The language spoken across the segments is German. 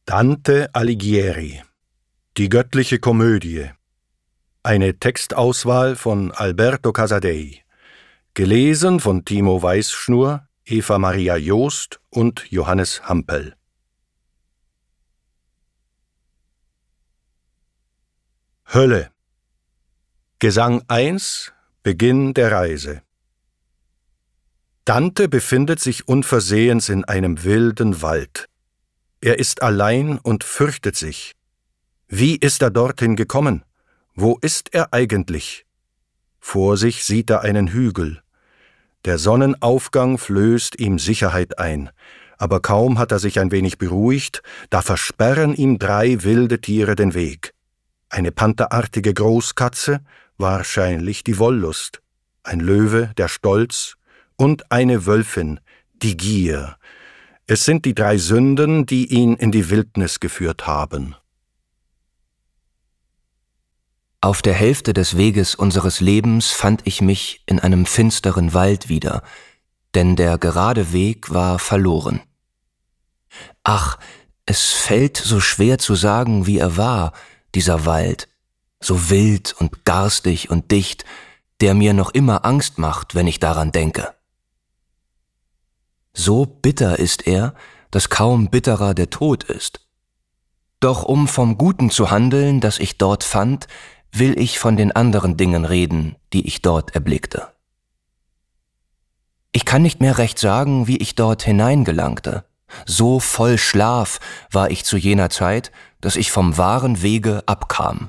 Dante Alighieri, die göttliche Komödie. Eine Textauswahl von Alberto Casadei. Gelesen von Timo Weißschnur, Eva Maria Joost und Johannes Hampel. Hölle. Gesang 1, Beginn der Reise. Dante befindet sich unversehens in einem wilden Wald. Er ist allein und fürchtet sich. Wie ist er dorthin gekommen? Wo ist er eigentlich? Vor sich sieht er einen Hügel. Der Sonnenaufgang flößt ihm Sicherheit ein, aber kaum hat er sich ein wenig beruhigt, da versperren ihm 3 wilde Tiere den Weg. Eine pantherartige Großkatze, wahrscheinlich die Wollust, ein Löwe, der Stolz, und eine Wölfin, die Gier. Es sind die 3 Sünden, die ihn in die Wildnis geführt haben. Auf der Hälfte des Weges unseres Lebens fand ich mich in einem finsteren Wald wieder, denn der gerade Weg war verloren. Ach, es fällt so schwer zu sagen, wie er war, dieser Wald, so wild und garstig und dicht, der mir noch immer Angst macht, wenn ich daran denke. So bitter ist er, dass kaum bitterer der Tod ist. Doch um vom Guten zu handeln, das ich dort fand, will ich von den anderen Dingen reden, die ich dort erblickte. Ich kann nicht mehr recht sagen, wie ich dort hineingelangte. So voll Schlaf war ich zu jener Zeit, dass ich vom wahren Wege abkam.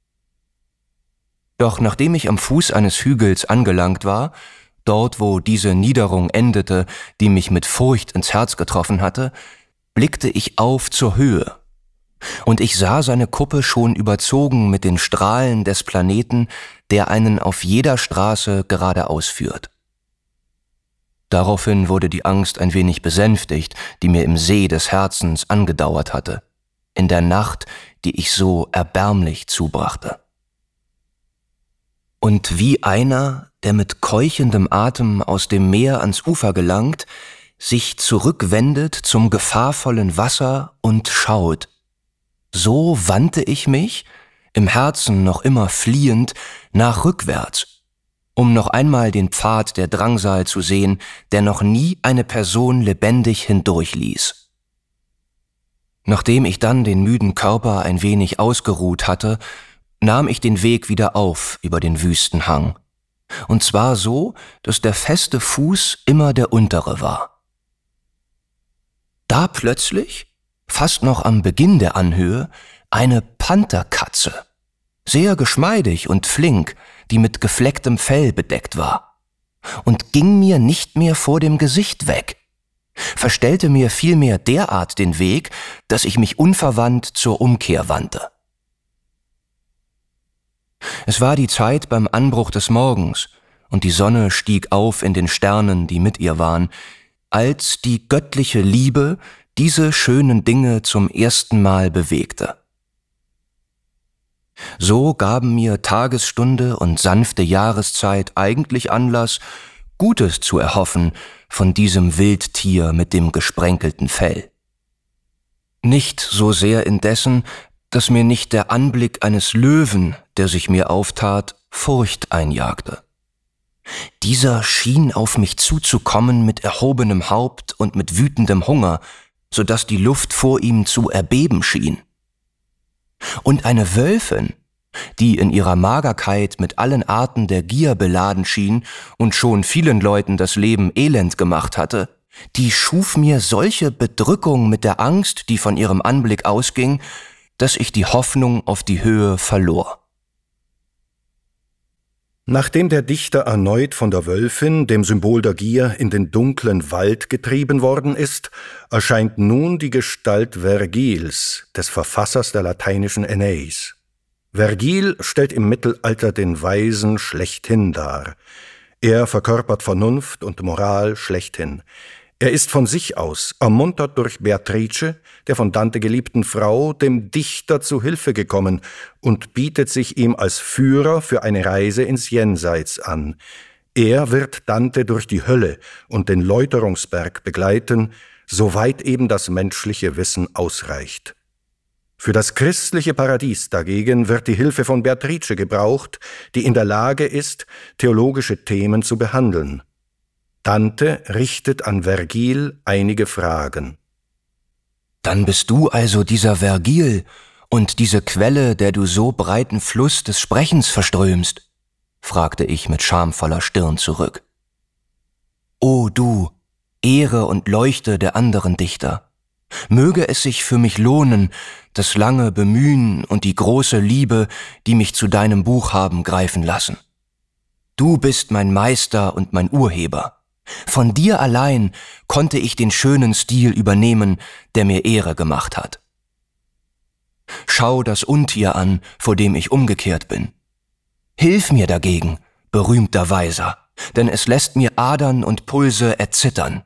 Doch nachdem ich am Fuß eines Hügels angelangt war, dort wo diese Niederung endete, die mich mit Furcht ins Herz getroffen hatte, blickte ich auf zur Höhe. Und ich sah seine Kuppe schon überzogen mit den Strahlen des Planeten, der einen auf jeder Straße geradeaus führt. Daraufhin wurde die Angst ein wenig besänftigt, die mir im See des Herzens angedauert hatte, in der Nacht, die ich so erbärmlich zubrachte. Und wie einer, der mit keuchendem Atem aus dem Meer ans Ufer gelangt, sich zurückwendet zum gefahrvollen Wasser und schaut, so wandte ich mich, im Herzen noch immer fliehend, nach rückwärts, um noch einmal den Pfad der Drangsal zu sehen, der noch nie eine Person lebendig hindurchließ. Nachdem ich dann den müden Körper ein wenig ausgeruht hatte, nahm ich den Weg wieder auf über den wüsten Hang. Und zwar so, dass der feste Fuß immer der untere war. Da plötzlich, fast noch am Beginn der Anhöhe, eine Pantherkatze, sehr geschmeidig und flink, die mit geflecktem Fell bedeckt war, und ging mir nicht mehr vor dem Gesicht weg, verstellte mir vielmehr derart den Weg, dass ich mich unverwandt zur Umkehr wandte. Es war die Zeit beim Anbruch des Morgens, und die Sonne stieg auf in den Sternen, die mit ihr waren, als die göttliche Liebe diese schönen Dinge zum ersten Mal bewegte. So gaben mir Tagesstunde und sanfte Jahreszeit eigentlich Anlass, Gutes zu erhoffen von diesem Wildtier mit dem gesprenkelten Fell. Nicht so sehr indessen, dass mir nicht der Anblick eines Löwen, der sich mir auftat, Furcht einjagte. Dieser schien auf mich zuzukommen mit erhobenem Haupt und mit wütendem Hunger, so dass die Luft vor ihm zu erbeben schien. Und eine Wölfin, die in ihrer Magerkeit mit allen Arten der Gier beladen schien und schon vielen Leuten das Leben elend gemacht hatte, die schuf mir solche Bedrückung mit der Angst, die von ihrem Anblick ausging, dass ich die Hoffnung auf die Höhe verlor. Nachdem der Dichter erneut von der Wölfin, dem Symbol der Gier, in den dunklen Wald getrieben worden ist, erscheint nun die Gestalt Vergils, des Verfassers der lateinischen Aeneis. Vergil stellt im Mittelalter den Weisen schlechthin dar. Er verkörpert Vernunft und Moral schlechthin. Er ist von sich aus, ermuntert durch Beatrice, der von Dante geliebten Frau, dem Dichter zu Hilfe gekommen und bietet sich ihm als Führer für eine Reise ins Jenseits an. Er wird Dante durch die Hölle und den Läuterungsberg begleiten, soweit eben das menschliche Wissen ausreicht. Für das christliche Paradies dagegen wird die Hilfe von Beatrice gebraucht, die in der Lage ist, theologische Themen zu behandeln. Dante richtet an Vergil einige Fragen. Dann bist du also dieser Vergil und diese Quelle, der du so breiten Fluss des Sprechens verströmst? Fragte ich mit schamvoller Stirn zurück. O du, Ehre und Leuchte der anderen Dichter! Möge es sich für mich lohnen, das lange Bemühen und die große Liebe, die mich zu deinem Buch haben greifen lassen. Du bist mein Meister und mein Urheber. Von dir allein konnte ich den schönen Stil übernehmen, der mir Ehre gemacht hat. Schau das Untier an, vor dem ich umgekehrt bin. Hilf mir dagegen, berühmter Weiser, denn es lässt mir Adern und Pulse erzittern.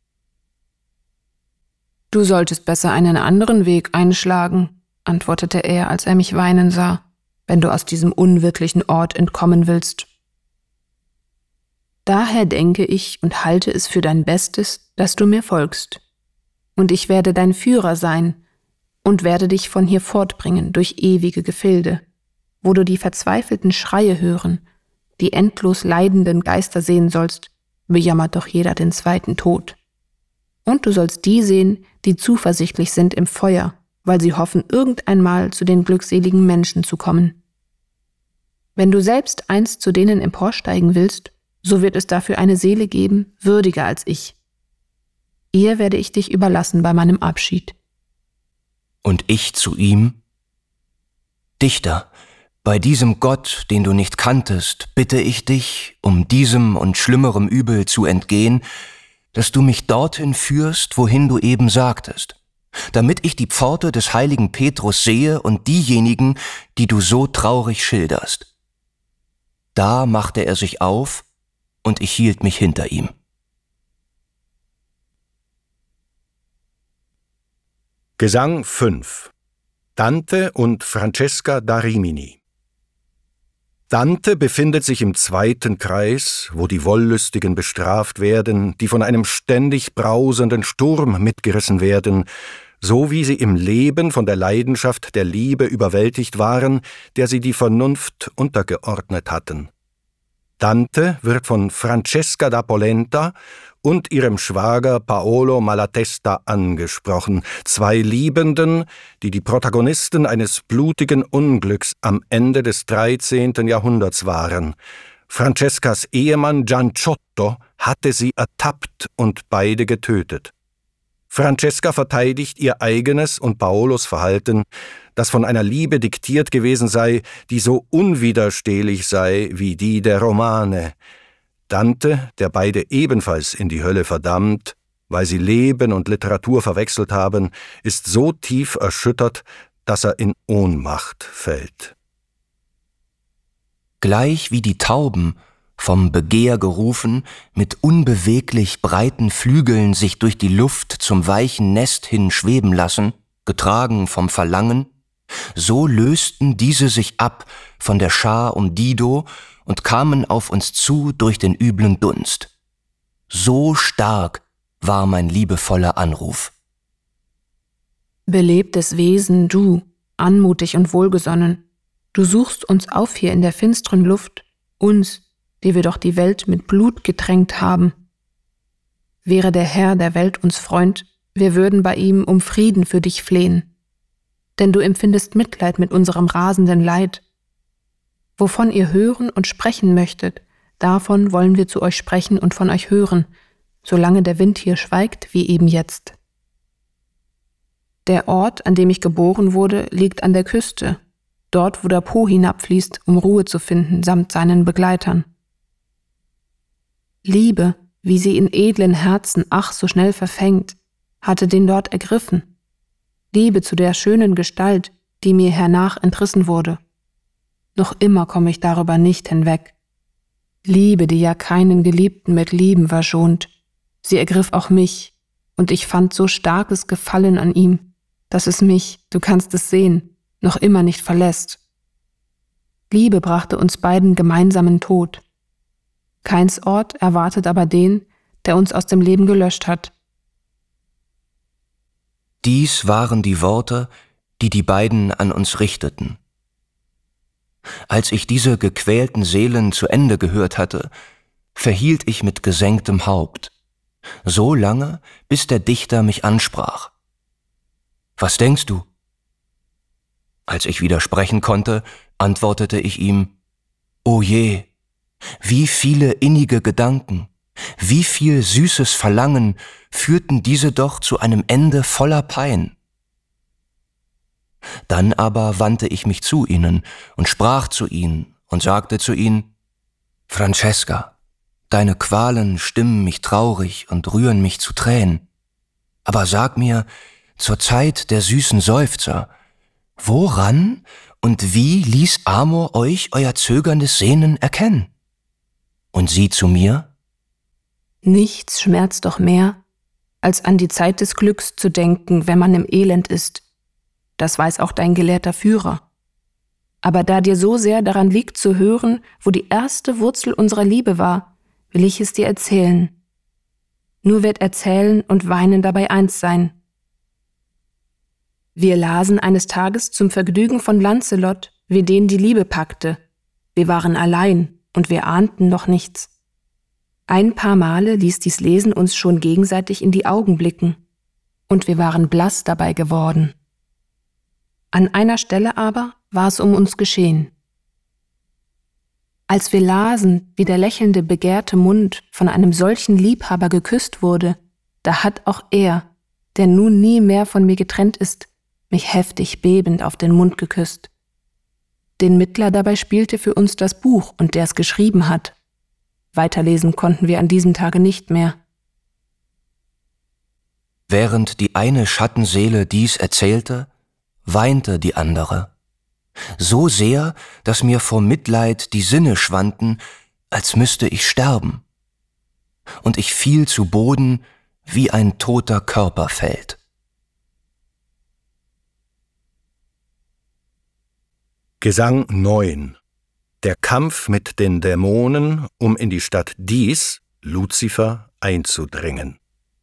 Du solltest besser einen anderen Weg einschlagen, antwortete er, als er mich weinen sah, wenn du aus diesem unwirklichen Ort entkommen willst. Daher denke ich und halte es für dein Bestes, dass du mir folgst. Und ich werde dein Führer sein und werde dich von hier fortbringen durch ewige Gefilde, wo du die verzweifelten Schreie hören, die endlos leidenden Geister sehen sollst, bejammert doch jeder den zweiten Tod. Und du sollst die sehen, die zuversichtlich sind im Feuer, weil sie hoffen, irgendeinmal zu den glückseligen Menschen zu kommen. Wenn du selbst einst zu denen emporsteigen willst, so wird es dafür eine Seele geben, würdiger als ich. Ihr werde ich dich überlassen bei meinem Abschied. Und ich zu ihm? Dichter, bei diesem Gott, den du nicht kanntest, bitte ich dich, um diesem und schlimmerem Übel zu entgehen, dass du mich dorthin führst, wohin du eben sagtest, damit ich die Pforte des heiligen Petrus sehe und diejenigen, die du so traurig schilderst. Da machte er sich auf, und ich hielt mich hinter ihm. Gesang 5. Dante und Francesca da Rimini. Dante befindet sich im zweiten Kreis, wo die Wollüstigen bestraft werden, die von einem ständig brausenden Sturm mitgerissen werden, so wie sie im Leben von der Leidenschaft der Liebe überwältigt waren, der sie die Vernunft untergeordnet hatten. Dante wird von Francesca da Polenta und ihrem Schwager Paolo Malatesta angesprochen, zwei Liebenden, die die Protagonisten eines blutigen Unglücks am Ende des 13. Jahrhunderts waren. Francescas Ehemann Gianciotto hatte sie ertappt und beide getötet. Francesca verteidigt ihr eigenes und Paolos Verhalten, das von einer Liebe diktiert gewesen sei, die so unwiderstehlich sei wie die der Romane. Dante, der beide ebenfalls in die Hölle verdammt, weil sie Leben und Literatur verwechselt haben, ist so tief erschüttert, dass er in Ohnmacht fällt. Gleich wie die Tauben, vom Begehr gerufen, mit unbeweglich breiten Flügeln sich durch die Luft zum weichen Nest hin schweben lassen, getragen vom Verlangen, so lösten diese sich ab von der Schar um Dido und kamen auf uns zu durch den üblen Dunst. So stark war mein liebevoller Anruf. Belebtes Wesen, du, anmutig und wohlgesonnen, du suchst uns auf hier in der finsteren Luft, uns, die wir doch die Welt mit Blut getränkt haben. Wäre der Herr der Welt uns Freund, wir würden bei ihm um Frieden für dich flehen. Denn du empfindest Mitleid mit unserem rasenden Leid. Wovon ihr hören und sprechen möchtet, davon wollen wir zu euch sprechen und von euch hören, solange der Wind hier schweigt, wie eben jetzt. Der Ort, an dem ich geboren wurde, liegt an der Küste, dort, wo der Po hinabfließt, um Ruhe zu finden, samt seinen Begleitern. Liebe, wie sie in edlen Herzen ach so schnell verfängt, hatte den dort ergriffen. Liebe zu der schönen Gestalt, die mir hernach entrissen wurde. Noch immer komme ich darüber nicht hinweg. Liebe, die ja keinen Geliebten mit Lieben verschont. Sie ergriff auch mich, und ich fand so starkes Gefallen an ihm, dass es mich, du kannst es sehen, noch immer nicht verlässt. Liebe brachte uns beiden gemeinsamen Tod. Keins Ort erwartet aber den, der uns aus dem Leben gelöscht hat. Dies waren die Worte, die die beiden an uns richteten. Als ich diese gequälten Seelen zu Ende gehört hatte, verhielt ich mit gesenktem Haupt, so lange, bis der Dichter mich ansprach. »Was denkst du?« Als ich wieder sprechen konnte, antwortete ich ihm, »O je, wie viele innige Gedanken, wie viel süßes Verlangen führten diese doch zu einem Ende voller Pein.« Dann aber wandte ich mich zu ihnen und sprach zu ihnen und sagte zu ihnen, »Francesca, deine Qualen stimmen mich traurig und rühren mich zu Tränen. Aber sag mir, zur Zeit der süßen Seufzer, woran und wie ließ Amor euch euer zögerndes Sehnen erkennen? Und sie zu mir, nichts schmerzt doch mehr, als an die Zeit des Glücks zu denken, wenn man im Elend ist. Das weiß auch dein gelehrter Führer. Aber da dir so sehr daran liegt zu hören, wo die erste Wurzel unserer Liebe war, will ich es dir erzählen. Nur wird Erzählen und Weinen dabei eins sein. Wir lasen eines Tages zum Vergnügen von Lancelot, wie den die Liebe packte. Wir waren allein und wir ahnten noch nichts. Ein paar Male ließ dies Lesen uns schon gegenseitig in die Augen blicken, und wir waren blass dabei geworden. An einer Stelle aber war es um uns geschehen. Als wir lasen, wie der lächelnde, begehrte Mund von einem solchen Liebhaber geküsst wurde, da hat auch er, der nun nie mehr von mir getrennt ist, mich heftig bebend auf den Mund geküsst. Den Mittler dabei spielte für uns das Buch und der es geschrieben hat. Weiterlesen konnten wir an diesem Tage nicht mehr. Während die eine Schattenseele dies erzählte, weinte die andere. So sehr, dass mir vor Mitleid die Sinne schwanden, als müsste ich sterben. Und ich fiel zu Boden, wie ein toter Körper fällt. Gesang 9. Der Kampf mit den Dämonen, um in die Stadt Dis, Luzifer, einzudringen.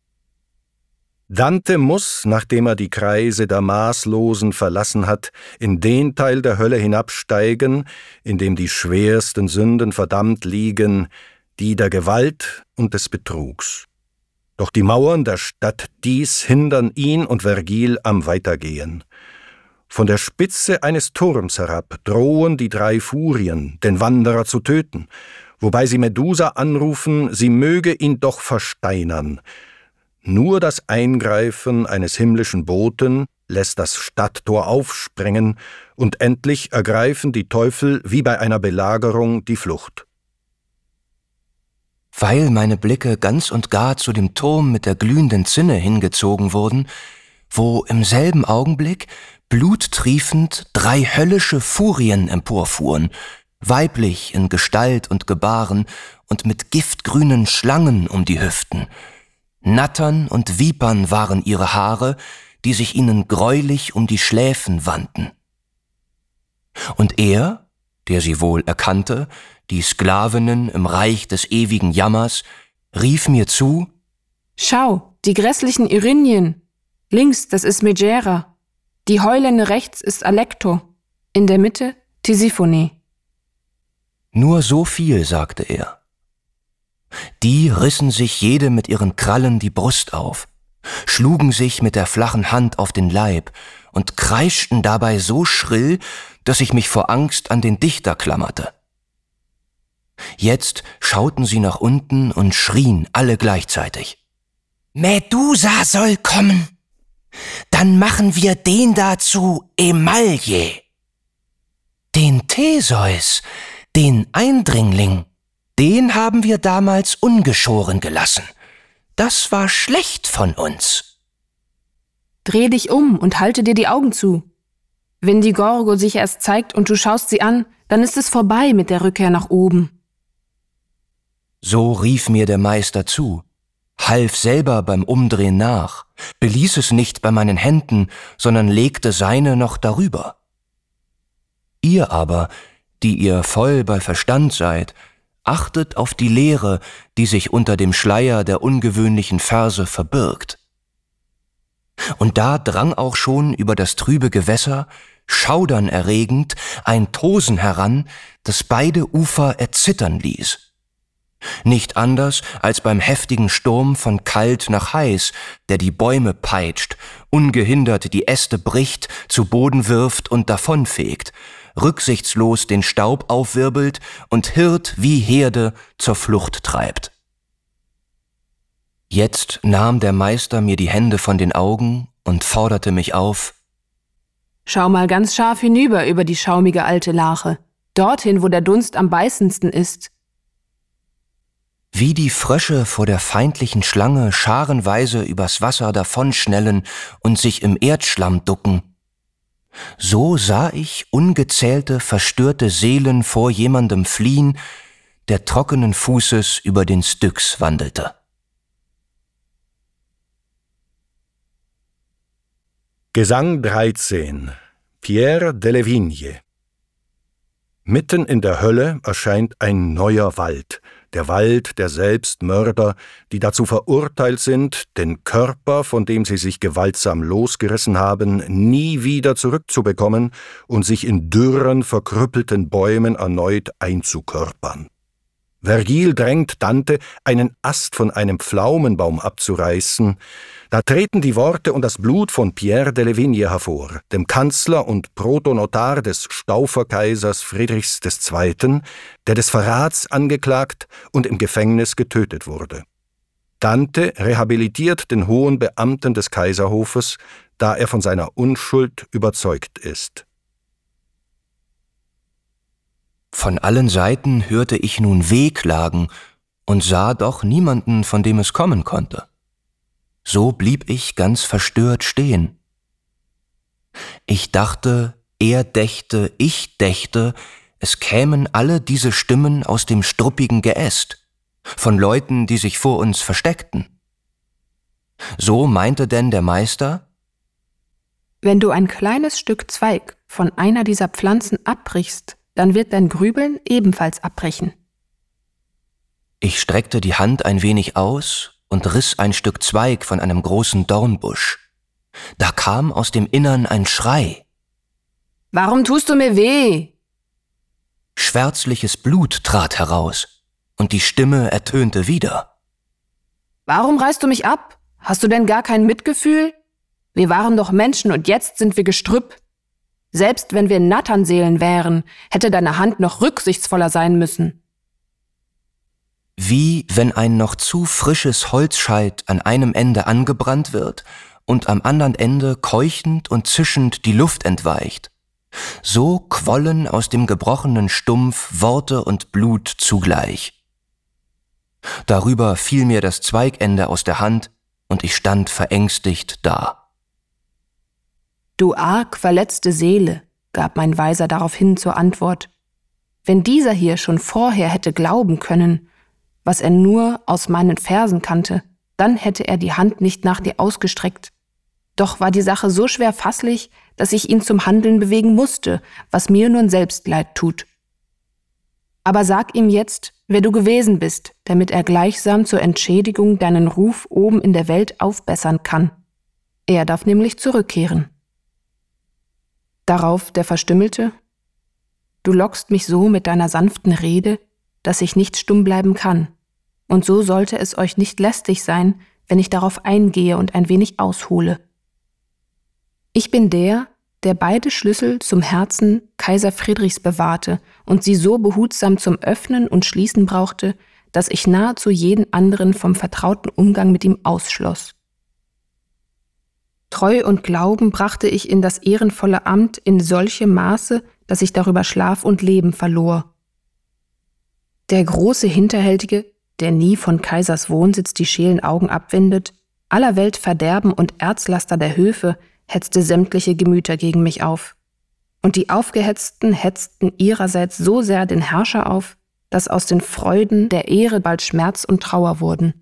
Dante muss, nachdem er die Kreise der Maßlosen verlassen hat, in den Teil der Hölle hinabsteigen, in dem die schwersten Sünden verdammt liegen, die der Gewalt und des Betrugs. Doch die Mauern der Stadt Dis hindern ihn und Vergil am Weitergehen. Von der Spitze eines Turms herab drohen die 3 Furien, den Wanderer zu töten, wobei sie Medusa anrufen, sie möge ihn doch versteinern. Nur das Eingreifen eines himmlischen Boten lässt das Stadttor aufsprengen, und endlich ergreifen die Teufel wie bei einer Belagerung die Flucht. Weil meine Blicke ganz und gar zu dem Turm mit der glühenden Zinne hingezogen wurden, wo im selben Augenblick bluttriefend 3 höllische Furien emporfuhren, weiblich in Gestalt und Gebaren und mit giftgrünen Schlangen um die Hüften. Nattern und Vipern waren ihre Haare, die sich ihnen greulich um die Schläfen wandten. Und er, der sie wohl erkannte, die Sklavinnen im Reich des ewigen Jammers, rief mir zu: »Schau, die grässlichen Erinien! Links, das ist Megera. Die Heulende rechts ist Alecto. In der Mitte Tisiphone.« Nur so viel, sagte er. Die rissen sich jede mit ihren Krallen die Brust auf, schlugen sich mit der flachen Hand auf den Leib und kreischten dabei so schrill, dass ich mich vor Angst an den Dichter klammerte. Jetzt schauten sie nach unten und schrien alle gleichzeitig: »Medusa soll kommen! Dann machen wir den da zu Emaille! Den Theseus, den Eindringling, den haben wir damals ungeschoren gelassen. Das war schlecht von uns.« »Dreh dich um und halte dir die Augen zu. Wenn die Gorgo sich erst zeigt und du schaust sie an, dann ist es vorbei mit der Rückkehr nach oben.« So rief mir der Meister zu, half selber beim Umdrehen nach, beließ es nicht bei meinen Händen, sondern legte seine noch darüber. Ihr aber, die ihr voll bei Verstand seid, achtet auf die Leere, die sich unter dem Schleier der ungewöhnlichen Verse verbirgt. Und da drang auch schon über das trübe Gewässer, schaudernerregend, ein Tosen heran, das beide Ufer erzittern ließ. Nicht anders als beim heftigen Sturm von kalt nach heiß, der die Bäume peitscht, ungehindert die Äste bricht, zu Boden wirft und davonfegt, rücksichtslos den Staub aufwirbelt und Hirt wie Herde zur Flucht treibt. Jetzt nahm der Meister mir die Hände von den Augen und forderte mich auf: Schau mal ganz scharf hinüber über die schaumige alte Lache, dorthin, wo der Dunst am beißendsten ist. Wie die Frösche vor der feindlichen Schlange scharenweise übers Wasser davonschnellen und sich im Erdschlamm ducken, so sah ich ungezählte, verstörte Seelen vor jemandem fliehen, der trockenen Fußes über den Styx wandelte. Gesang 13. Pierre de Vigne. Mitten in der Hölle erscheint ein neuer Wald, der Wald der Selbstmörder, die dazu verurteilt sind, den Körper, von dem sie sich gewaltsam losgerissen haben, nie wieder zurückzubekommen und sich in dürren, verkrüppelten Bäumen erneut einzukörpern. Vergil drängt Dante, einen Ast von einem Pflaumenbaum abzureißen. Da treten die Worte und das Blut von Pierre de Vigne hervor, dem Kanzler und Protonotar des Stauferkaisers Friedrichs II., der des Verrats angeklagt und im Gefängnis getötet wurde. Dante rehabilitiert den hohen Beamten des Kaiserhofes, da er von seiner Unschuld überzeugt ist. Von allen Seiten hörte ich nun Wehklagen und sah doch niemanden, von dem es kommen konnte. So blieb ich ganz verstört stehen. Ich dachte, er dächte, ich dächte, es kämen alle diese Stimmen aus dem struppigen Geäst, von Leuten, die sich vor uns versteckten. So meinte denn der Meister: Wenn du ein kleines Stück Zweig von einer dieser Pflanzen abbrichst, dann wird dein Grübeln ebenfalls abbrechen. Ich streckte die Hand ein wenig aus und riss ein Stück Zweig von einem großen Dornbusch. Da kam aus dem Innern ein Schrei. Warum tust du mir weh? Schwärzliches Blut trat heraus, und die Stimme ertönte wieder. Warum reißt du mich ab? Hast du denn gar kein Mitgefühl? Wir waren doch Menschen und jetzt sind wir Gestrüpp. Selbst wenn wir Natternseelen wären, hätte deine Hand noch rücksichtsvoller sein müssen. Wie wenn ein noch zu frisches Holzscheit an einem Ende angebrannt wird und am anderen Ende keuchend und zischend die Luft entweicht. So quollen aus dem gebrochenen Stumpf Worte und Blut zugleich. Darüber fiel mir das Zweigende aus der Hand und ich stand verängstigt da. Du arg verletzte Seele, gab mein Weiser daraufhin zur Antwort. Wenn dieser hier schon vorher hätte glauben können, was er nur aus meinen Versen kannte, dann hätte er die Hand nicht nach dir ausgestreckt. Doch war die Sache so schwer fasslich, dass ich ihn zum Handeln bewegen musste, was mir nun selbst leid tut. Aber sag ihm jetzt, wer du gewesen bist, damit er gleichsam zur Entschädigung deinen Ruf oben in der Welt aufbessern kann. Er darf nämlich zurückkehren. Darauf der Verstümmelte: Du lockst mich so mit deiner sanften Rede, dass ich nicht stumm bleiben kann. Und so sollte es euch nicht lästig sein, wenn ich darauf eingehe und ein wenig aushole. Ich bin der beide Schlüssel zum Herzen Kaiser Friedrichs bewahrte und sie so behutsam zum Öffnen und Schließen brauchte, dass ich nahezu jeden anderen vom vertrauten Umgang mit ihm ausschloss. Treu und Glauben brachte ich in das ehrenvolle Amt in solchem Maße, dass ich darüber Schlaf und Leben verlor. Der große Hinterhältige, der nie von Kaisers Wohnsitz die scheelen Augen abwendet, aller Welt Verderben und Erzlaster der Höfe, hetzte sämtliche Gemüter gegen mich auf. Und die Aufgehetzten hetzten ihrerseits so sehr den Herrscher auf, dass aus den Freuden der Ehre bald Schmerz und Trauer wurden.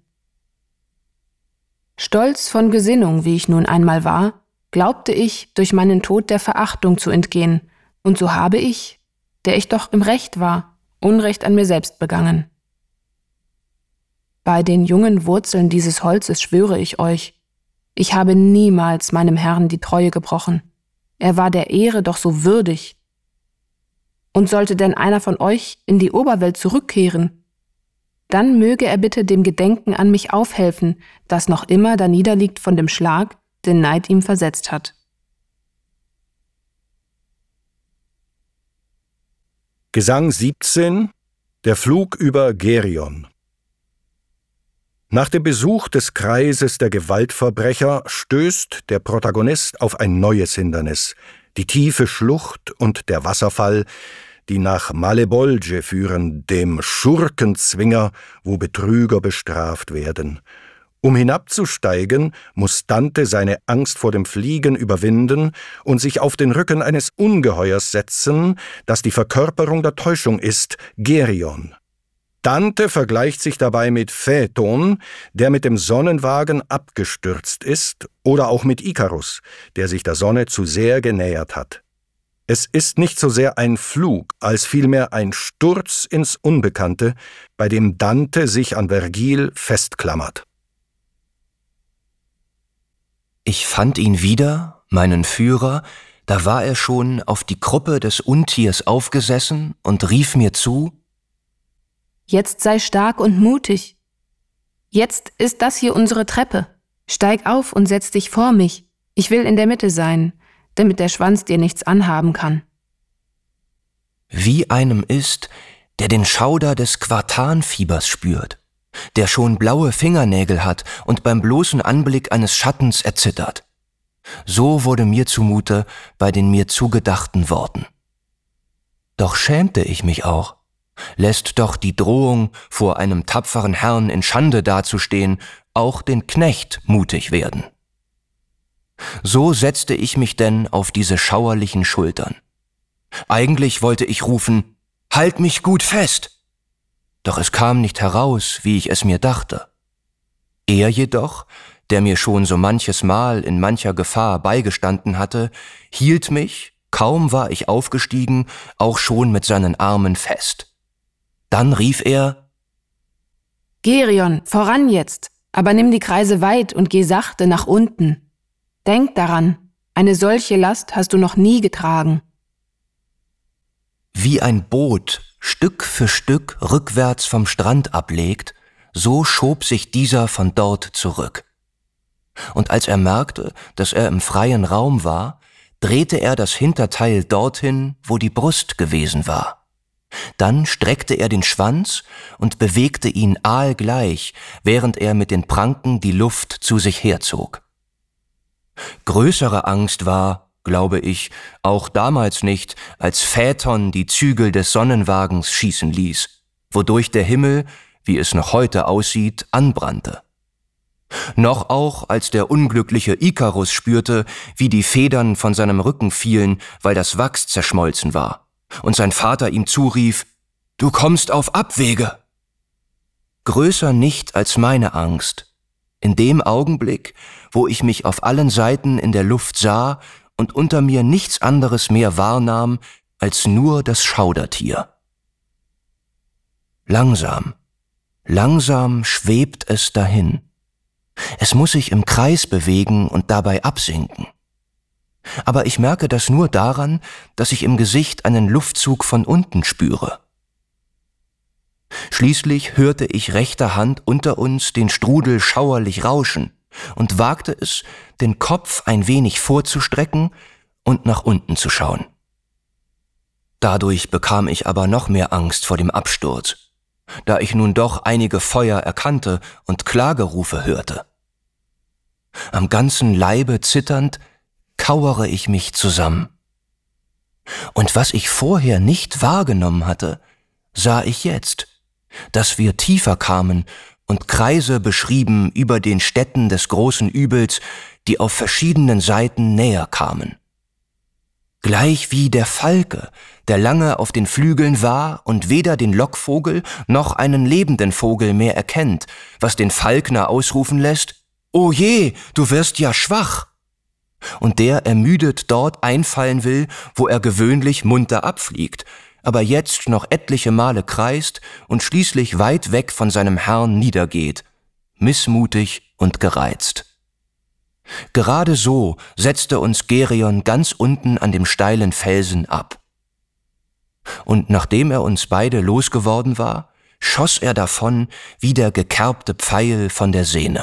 Stolz von Gesinnung, wie ich nun einmal war, glaubte ich, durch meinen Tod der Verachtung zu entgehen, und so habe ich, der ich doch im Recht war, Unrecht an mir selbst begangen. Bei den jungen Wurzeln dieses Holzes schwöre ich euch, Ich habe niemals meinem Herrn die Treue gebrochen. Er war der Ehre doch so würdig. Und sollte denn einer von euch in die Oberwelt zurückkehren, dann möge er bitte dem Gedenken an mich aufhelfen, das noch immer da niederliegt von dem Schlag, den Neid ihm versetzt hat. Gesang 17. Der Flug über Gerion. Nach dem Besuch des Kreises der Gewaltverbrecher stößt der Protagonist auf ein neues Hindernis, die tiefe Schlucht und der Wasserfall, die nach Malebolge führen, dem Schurkenzwinger, wo Betrüger bestraft werden. Um hinabzusteigen, muss Dante seine Angst vor dem Fliegen überwinden und sich auf den Rücken eines Ungeheuers setzen, das die Verkörperung der Täuschung ist, Gerion. Dante vergleicht sich dabei mit Phaeton, der mit dem Sonnenwagen abgestürzt ist, oder auch mit Ikarus, der sich der Sonne zu sehr genähert hat. Es ist nicht so sehr ein Flug, als vielmehr ein Sturz ins Unbekannte, bei dem Dante sich an Vergil festklammert. Ich fand ihn wieder, meinen Führer, da war er schon auf die Kruppe des Untiers aufgesessen und rief mir zu: Jetzt sei stark und mutig. Jetzt ist das hier unsere Treppe. Steig auf und setz dich vor mich. Ich will in der Mitte sein, damit der Schwanz dir nichts anhaben kann. Wie einem ist, der den Schauder des Quartanfiebers spürt, der schon blaue Fingernägel hat und beim bloßen Anblick eines Schattens erzittert. So wurde mir zumute bei den mir zugedachten Worten. Doch schämte ich mich auch. Lässt doch die Drohung, vor einem tapferen Herrn in Schande dazustehen, auch den Knecht mutig werden. So setzte ich mich denn auf diese schauerlichen Schultern. Eigentlich wollte ich rufen: Halt mich gut fest! Doch es kam nicht heraus, wie ich es mir dachte. Er jedoch, der mir schon so manches Mal in mancher Gefahr beigestanden hatte, hielt mich, kaum war ich aufgestiegen, auch schon mit seinen Armen fest. Dann rief er: Gerion, voran jetzt, aber nimm die Kreise weit und geh sachte nach unten. Denk daran, eine solche Last hast du noch nie getragen. Wie ein Boot Stück für Stück rückwärts vom Strand ablegt, so schob sich dieser von dort zurück. Und als er merkte, dass er im freien Raum war, drehte er das Hinterteil dorthin, wo die Brust gewesen war. Dann streckte er den Schwanz und bewegte ihn aalgleich, während er mit den Pranken die Luft zu sich herzog. Größere Angst war, glaube ich, auch damals nicht, als Phaeton die Zügel des Sonnenwagens schießen ließ, wodurch der Himmel, wie es noch heute aussieht, anbrannte. Noch auch, als der unglückliche Ikarus spürte, wie die Federn von seinem Rücken fielen, weil das Wachs zerschmolzen war, und sein Vater ihm zurief: »Du kommst auf Abwege!« Größer nicht als meine Angst, in dem Augenblick, wo ich mich auf allen Seiten in der Luft sah und unter mir nichts anderes mehr wahrnahm als nur das Schaudertier. Langsam, langsam schwebt es dahin. Es muss sich im Kreis bewegen und dabei absinken. Aber ich merke das nur daran, dass ich im Gesicht einen Luftzug von unten spüre. Schließlich hörte ich rechter Hand unter uns den Strudel schauerlich rauschen und wagte es, den Kopf ein wenig vorzustrecken und nach unten zu schauen. Dadurch bekam ich aber noch mehr Angst vor dem Absturz, da ich nun doch einige Feuer erkannte und Klagerufe hörte. Am ganzen Leibe zitternd kauere ich mich zusammen. Und was ich vorher nicht wahrgenommen hatte, sah ich jetzt, dass wir tiefer kamen und Kreise beschrieben über den Städten des großen Übels, die auf verschiedenen Seiten näher kamen. Gleich wie der Falke, der lange auf den Flügeln war und weder den Lockvogel noch einen lebenden Vogel mehr erkennt, was den Falkner ausrufen lässt: »O je, du wirst ja schwach!« Und der ermüdet dort einfallen will, wo er gewöhnlich munter abfliegt, aber jetzt noch etliche Male kreist und schließlich weit weg von seinem Herrn niedergeht, missmutig und gereizt. Gerade so setzte uns Geryon ganz unten an dem steilen Felsen ab. Und nachdem er uns beide losgeworden war, schoss er davon wie der gekerbte Pfeil von der Sehne.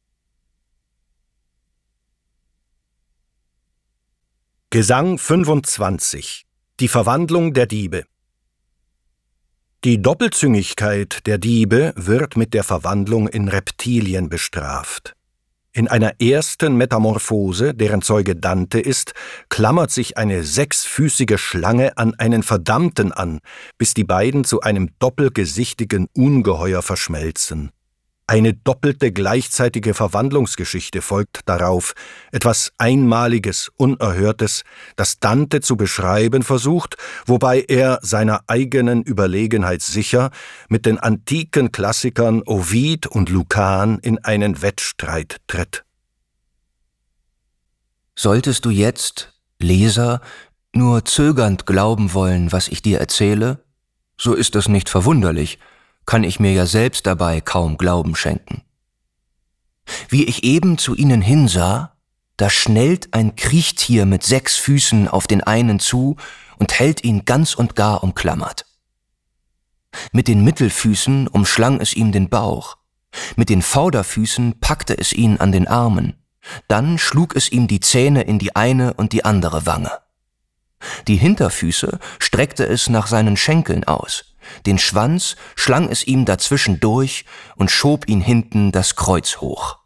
Gesang 25. Die Verwandlung der Diebe. Die Doppelzüngigkeit der Diebe wird mit der Verwandlung in Reptilien bestraft. In einer ersten Metamorphose, deren Zeuge Dante ist, klammert sich eine sechsfüßige Schlange an einen Verdammten an, bis die beiden zu einem doppelgesichtigen Ungeheuer verschmelzen. Eine doppelte gleichzeitige Verwandlungsgeschichte folgt darauf, etwas Einmaliges, Unerhörtes, das Dante zu beschreiben versucht, wobei er seiner eigenen Überlegenheit sicher mit den antiken Klassikern Ovid und Lucan in einen Wettstreit tritt. Solltest du jetzt, Leser, nur zögernd glauben wollen, was ich dir erzähle, so ist das nicht verwunderlich, kann ich mir ja selbst dabei kaum Glauben schenken. Wie ich eben zu ihnen hinsah, da schnellt ein Kriechtier mit 6 Füßen auf den einen zu und hält ihn ganz und gar umklammert. Mit den Mittelfüßen umschlang es ihm den Bauch, mit den Vorderfüßen packte es ihn an den Armen, dann schlug es ihm die Zähne in die eine und die andere Wange. Die Hinterfüße streckte es nach seinen Schenkeln aus, den Schwanz schlang es ihm dazwischen durch und schob ihn hinten das Kreuz hoch.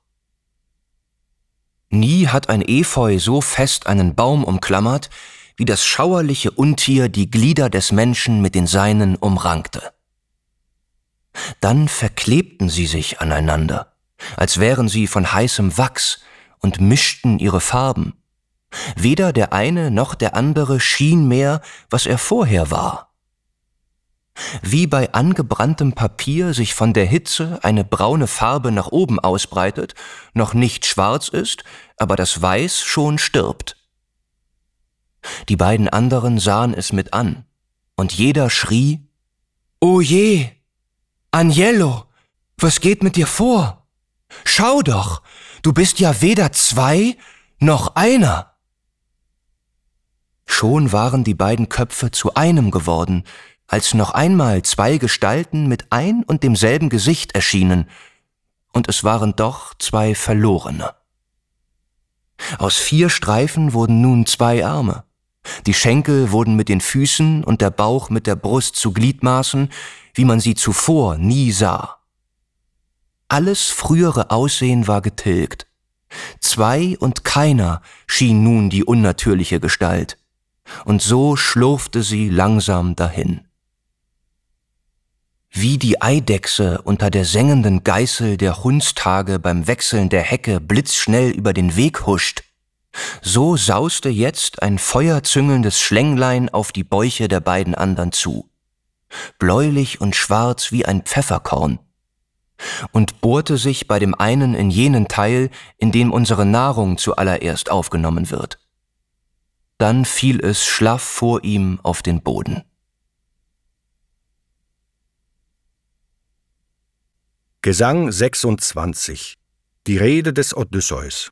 Nie hat ein Efeu so fest einen Baum umklammert, wie das schauerliche Untier die Glieder des Menschen mit den seinen umrankte. Dann verklebten sie sich aneinander, als wären sie von heißem Wachs und mischten ihre Farben. Weder der eine noch der andere schien mehr, was er vorher war. Wie bei angebranntem Papier sich von der Hitze eine braune Farbe nach oben ausbreitet, noch nicht schwarz ist, aber das Weiß schon stirbt. Die beiden anderen sahen es mit an, und jeder schrie, »O je, Agnello, was geht mit dir vor? Schau doch, du bist ja weder 2 noch einer!« Schon waren die beiden Köpfe zu einem geworden, als noch einmal 2 Gestalten mit ein und demselben Gesicht erschienen, und es waren doch 2 Verlorene. Aus 4 Streifen wurden nun 2 Arme, die Schenkel wurden mit den Füßen und der Bauch mit der Brust zu Gliedmaßen, wie man sie zuvor nie sah. Alles frühere Aussehen war getilgt. 2 und keiner schien nun die unnatürliche Gestalt, und so schlurfte sie langsam dahin. Wie die Eidechse unter der sengenden Geißel der Hundstage beim Wechseln der Hecke blitzschnell über den Weg huscht, so sauste jetzt ein feuerzüngelndes Schlänglein auf die Bäuche der beiden anderen zu, bläulich und schwarz wie ein Pfefferkorn, und bohrte sich bei dem einen in jenen Teil, in dem unsere Nahrung zuallererst aufgenommen wird. Dann fiel es schlaff vor ihm auf den Boden. Gesang 26. Die Rede des Odysseus.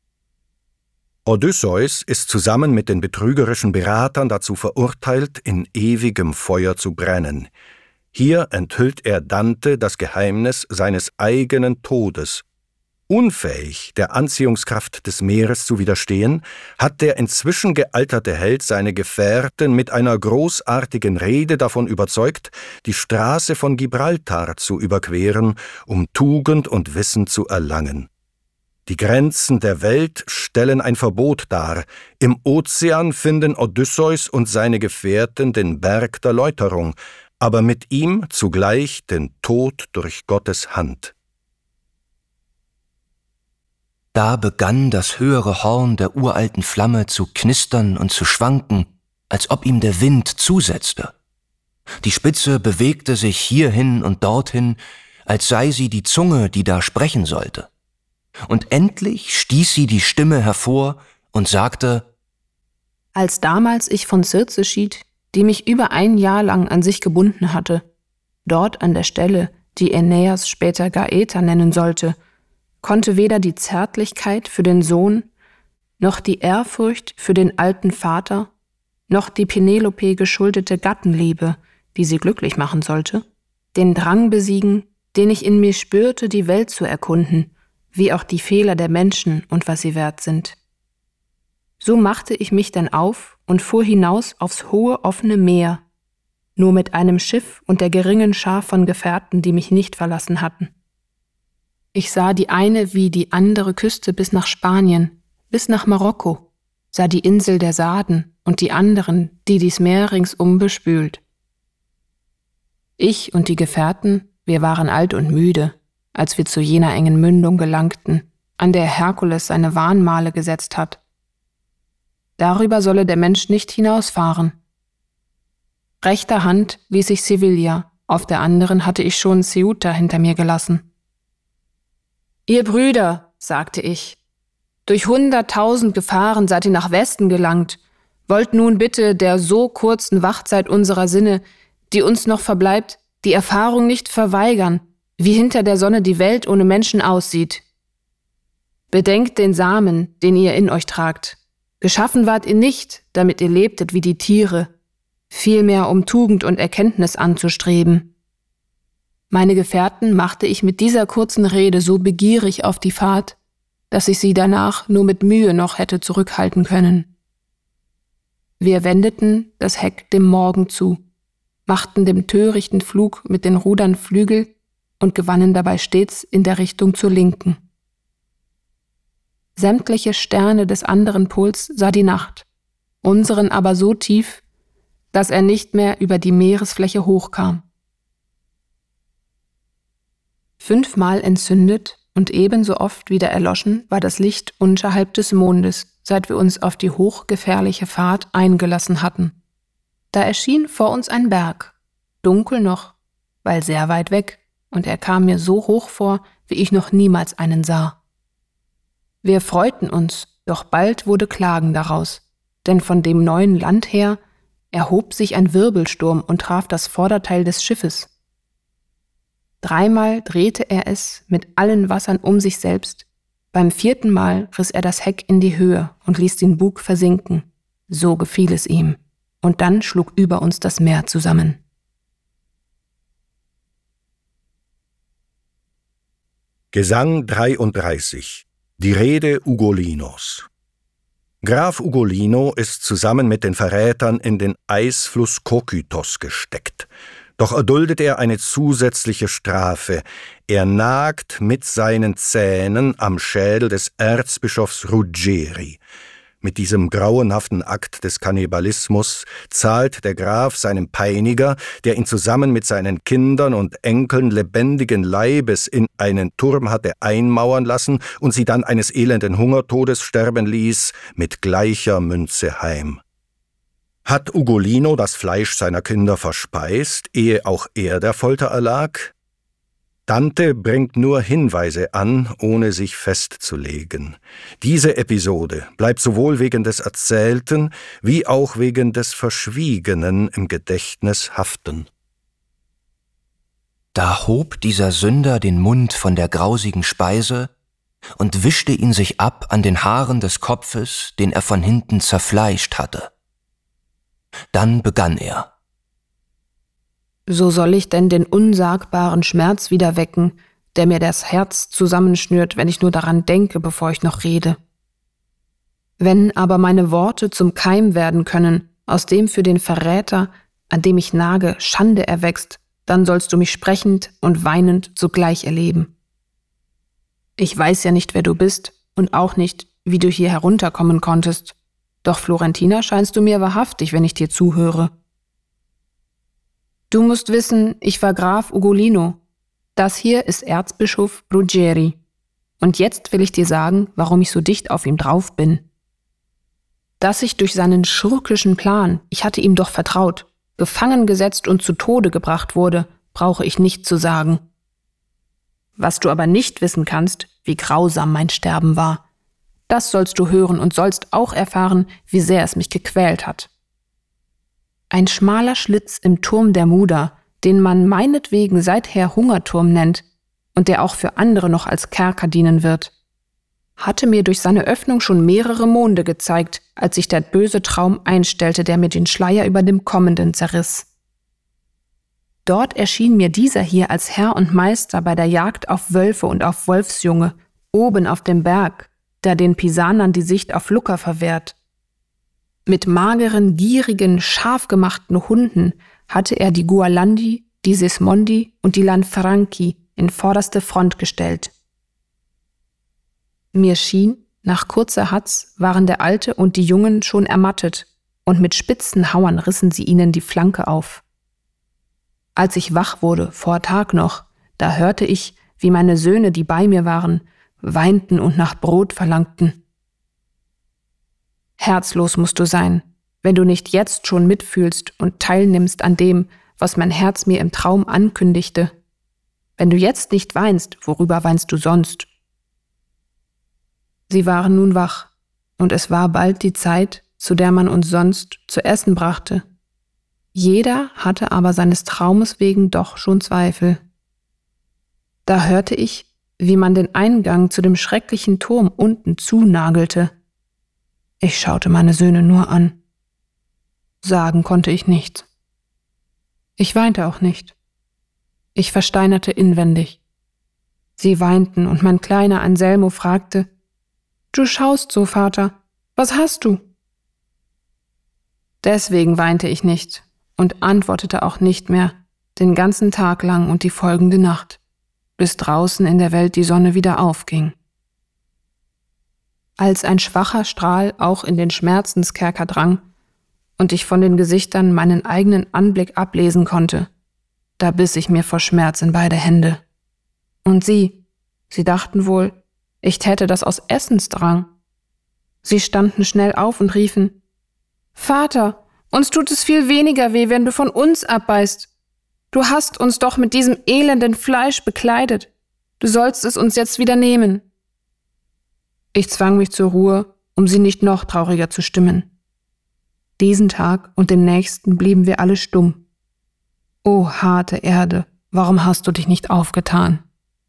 Odysseus ist zusammen mit den betrügerischen Beratern dazu verurteilt, in ewigem Feuer zu brennen. Hier enthüllt er Dante das Geheimnis seines eigenen Todes. Unfähig, der Anziehungskraft des Meeres zu widerstehen, hat der inzwischen gealterte Held seine Gefährten mit einer großartigen Rede davon überzeugt, die Straße von Gibraltar zu überqueren, um Tugend und Wissen zu erlangen. Die Grenzen der Welt stellen ein Verbot dar. Im Ozean finden Odysseus und seine Gefährten den Berg der Läuterung, aber mit ihm zugleich den Tod durch Gottes Hand. Da begann das höhere Horn der uralten Flamme zu knistern und zu schwanken, als ob ihm der Wind zusetzte. Die Spitze bewegte sich hierhin und dorthin, als sei sie die Zunge, die da sprechen sollte. Und endlich stieß sie die Stimme hervor und sagte: Als damals ich von Circe schied, die mich über 1 Jahr lang an sich gebunden hatte, dort an der Stelle, die Aeneas später Gaeta nennen sollte, konnte weder die Zärtlichkeit für den Sohn, noch die Ehrfurcht für den alten Vater, noch die Penelope geschuldete Gattenliebe, die sie glücklich machen sollte, den Drang besiegen, den ich in mir spürte, die Welt zu erkunden, wie auch die Fehler der Menschen und was sie wert sind. So machte ich mich dann auf und fuhr hinaus aufs hohe offene Meer, nur mit einem Schiff und der geringen Schar von Gefährten, die mich nicht verlassen hatten. Ich sah die eine wie die andere Küste bis nach Spanien, bis nach Marokko, sah die Insel der Sarden und die anderen, die dies Meer ringsum bespült. Ich und die Gefährten, wir waren alt und müde, als wir zu jener engen Mündung gelangten, an der Herkules seine Mahnmale gesetzt hat. Darüber solle der Mensch nicht hinausfahren. Rechter Hand ließ ich Sevilla, auf der anderen hatte ich schon Ceuta hinter mir gelassen. »Ihr Brüder«, sagte ich, »durch 100.000 Gefahren seid ihr nach Westen gelangt, wollt nun bitte der so kurzen Wachzeit unserer Sinne, die uns noch verbleibt, die Erfahrung nicht verweigern, wie hinter der Sonne die Welt ohne Menschen aussieht. Bedenkt den Samen, den ihr in euch tragt. Geschaffen wart ihr nicht, damit ihr lebtet wie die Tiere, vielmehr um Tugend und Erkenntnis anzustreben.« Meine Gefährten machte ich mit dieser kurzen Rede so begierig auf die Fahrt, dass ich sie danach nur mit Mühe noch hätte zurückhalten können. Wir wendeten das Heck dem Morgen zu, machten dem törichten Flug mit den Rudern Flügel und gewannen dabei stets in der Richtung zur Linken. Sämtliche Sterne des anderen Pols sah die Nacht, unseren aber so tief, dass er nicht mehr über die Meeresfläche hochkam. 5-mal entzündet und ebenso oft wieder erloschen war das Licht unterhalb des Mondes, seit wir uns auf die hochgefährliche Fahrt eingelassen hatten. Da erschien vor uns ein Berg, dunkel noch, weil sehr weit weg, und er kam mir so hoch vor, wie ich noch niemals einen sah. Wir freuten uns, doch bald wurde Klagen daraus, denn von dem neuen Land her erhob sich ein Wirbelsturm und traf das Vorderteil des Schiffes. 3-mal drehte er es mit allen Wassern um sich selbst, beim 4. Mal riss er das Heck in die Höhe und ließ den Bug versinken, so gefiel es ihm, und dann schlug über uns das Meer zusammen. Gesang 33. Die Rede Ugolinos. Graf Ugolino ist zusammen mit den Verrätern in den Eisfluss Kokytos gesteckt. Doch erduldet er eine zusätzliche Strafe. Er nagt mit seinen Zähnen am Schädel des Erzbischofs Ruggeri. Mit diesem grauenhaften Akt des Kannibalismus zahlt der Graf seinem Peiniger, der ihn zusammen mit seinen Kindern und Enkeln lebendigen Leibes in einen Turm hatte einmauern lassen und sie dann eines elenden Hungertodes sterben ließ, mit gleicher Münze heim. Hat Ugolino das Fleisch seiner Kinder verspeist, ehe auch er der Folter erlag? Dante bringt nur Hinweise an, ohne sich festzulegen. Diese Episode bleibt sowohl wegen des Erzählten wie auch wegen des Verschwiegenen im Gedächtnis haften. Da hob dieser Sünder den Mund von der grausigen Speise und wischte ihn sich ab an den Haaren des Kopfes, den er von hinten zerfleischt hatte. Dann begann er: So soll ich denn den unsagbaren Schmerz wieder wecken, der mir das Herz zusammenschnürt, wenn ich nur daran denke, bevor ich noch rede. Wenn aber meine Worte zum Keim werden können, aus dem für den Verräter, an dem ich nage, Schande erwächst, dann sollst du mich sprechend und weinend zugleich erleben. Ich weiß ja nicht, wer du bist und auch nicht, wie du hier herunterkommen konntest, doch Florentina scheinst du mir wahrhaftig, wenn ich dir zuhöre. Du musst wissen, ich war Graf Ugolino. Das hier ist Erzbischof Ruggeri. Und jetzt will ich dir sagen, warum ich so dicht auf ihm drauf bin. Dass ich durch seinen schurkischen Plan, ich hatte ihm doch vertraut, gefangen gesetzt und zu Tode gebracht wurde, brauche ich nicht zu sagen. Was du aber nicht wissen kannst, wie grausam mein Sterben war. Das sollst du hören und sollst auch erfahren, wie sehr es mich gequält hat. Ein schmaler Schlitz im Turm der Muda, den man meinetwegen seither Hungerturm nennt, und der auch für andere noch als Kerker dienen wird, hatte mir durch seine Öffnung schon mehrere Monde gezeigt, als sich der böse Traum einstellte, der mir den Schleier über dem Kommenden zerriss. Dort erschien mir dieser hier als Herr und Meister bei der Jagd auf Wölfe und auf Wolfsjunge, oben auf dem Berg, der den Pisanern die Sicht auf Lucca verwehrt. Mit mageren, gierigen, scharf gemachten Hunden hatte er die Gualandi, die Sismondi und die Lanfranchi in vorderste Front gestellt. Mir schien, nach kurzer Hatz waren der Alte und die Jungen schon ermattet, und mit spitzen Hauern rissen sie ihnen die Flanke auf. Als ich wach wurde, vor Tag noch, da hörte ich, wie meine Söhne, die bei mir waren, weinten und nach Brot verlangten. Herzlos musst du sein, wenn du nicht jetzt schon mitfühlst und teilnimmst an dem, was mein Herz mir im Traum ankündigte. Wenn du jetzt nicht weinst, worüber weinst du sonst? Sie waren nun wach, und es war bald die Zeit, zu der man uns sonst zu essen brachte. Jeder hatte aber seines Traumes wegen doch schon Zweifel. Da hörte ich, wie man den Eingang zu dem schrecklichen Turm unten zunagelte. Ich schaute meine Söhne nur an. Sagen konnte ich nichts. Ich weinte auch nicht. Ich versteinerte inwendig. Sie weinten, und mein kleiner Anselmo fragte: »Du schaust so, Vater, was hast du?« Deswegen weinte ich nicht und antwortete auch nicht mehr, den ganzen Tag lang und die folgende Nacht, bis draußen in der Welt die Sonne wieder aufging. Als ein schwacher Strahl auch in den Schmerzenskerker drang und ich von den Gesichtern meinen eigenen Anblick ablesen konnte, da biss ich mir vor Schmerz in beide Hände. Und sie dachten wohl, ich täte das aus Essensdrang. Sie standen schnell auf und riefen: »Vater, uns tut es viel weniger weh, wenn du von uns abbeißt. Du hast uns doch mit diesem elenden Fleisch bekleidet. Du sollst es uns jetzt wieder nehmen.« Ich zwang mich zur Ruhe, um sie nicht noch trauriger zu stimmen. Diesen Tag und den nächsten blieben wir alle stumm. O harte Erde, warum hast du dich nicht aufgetan?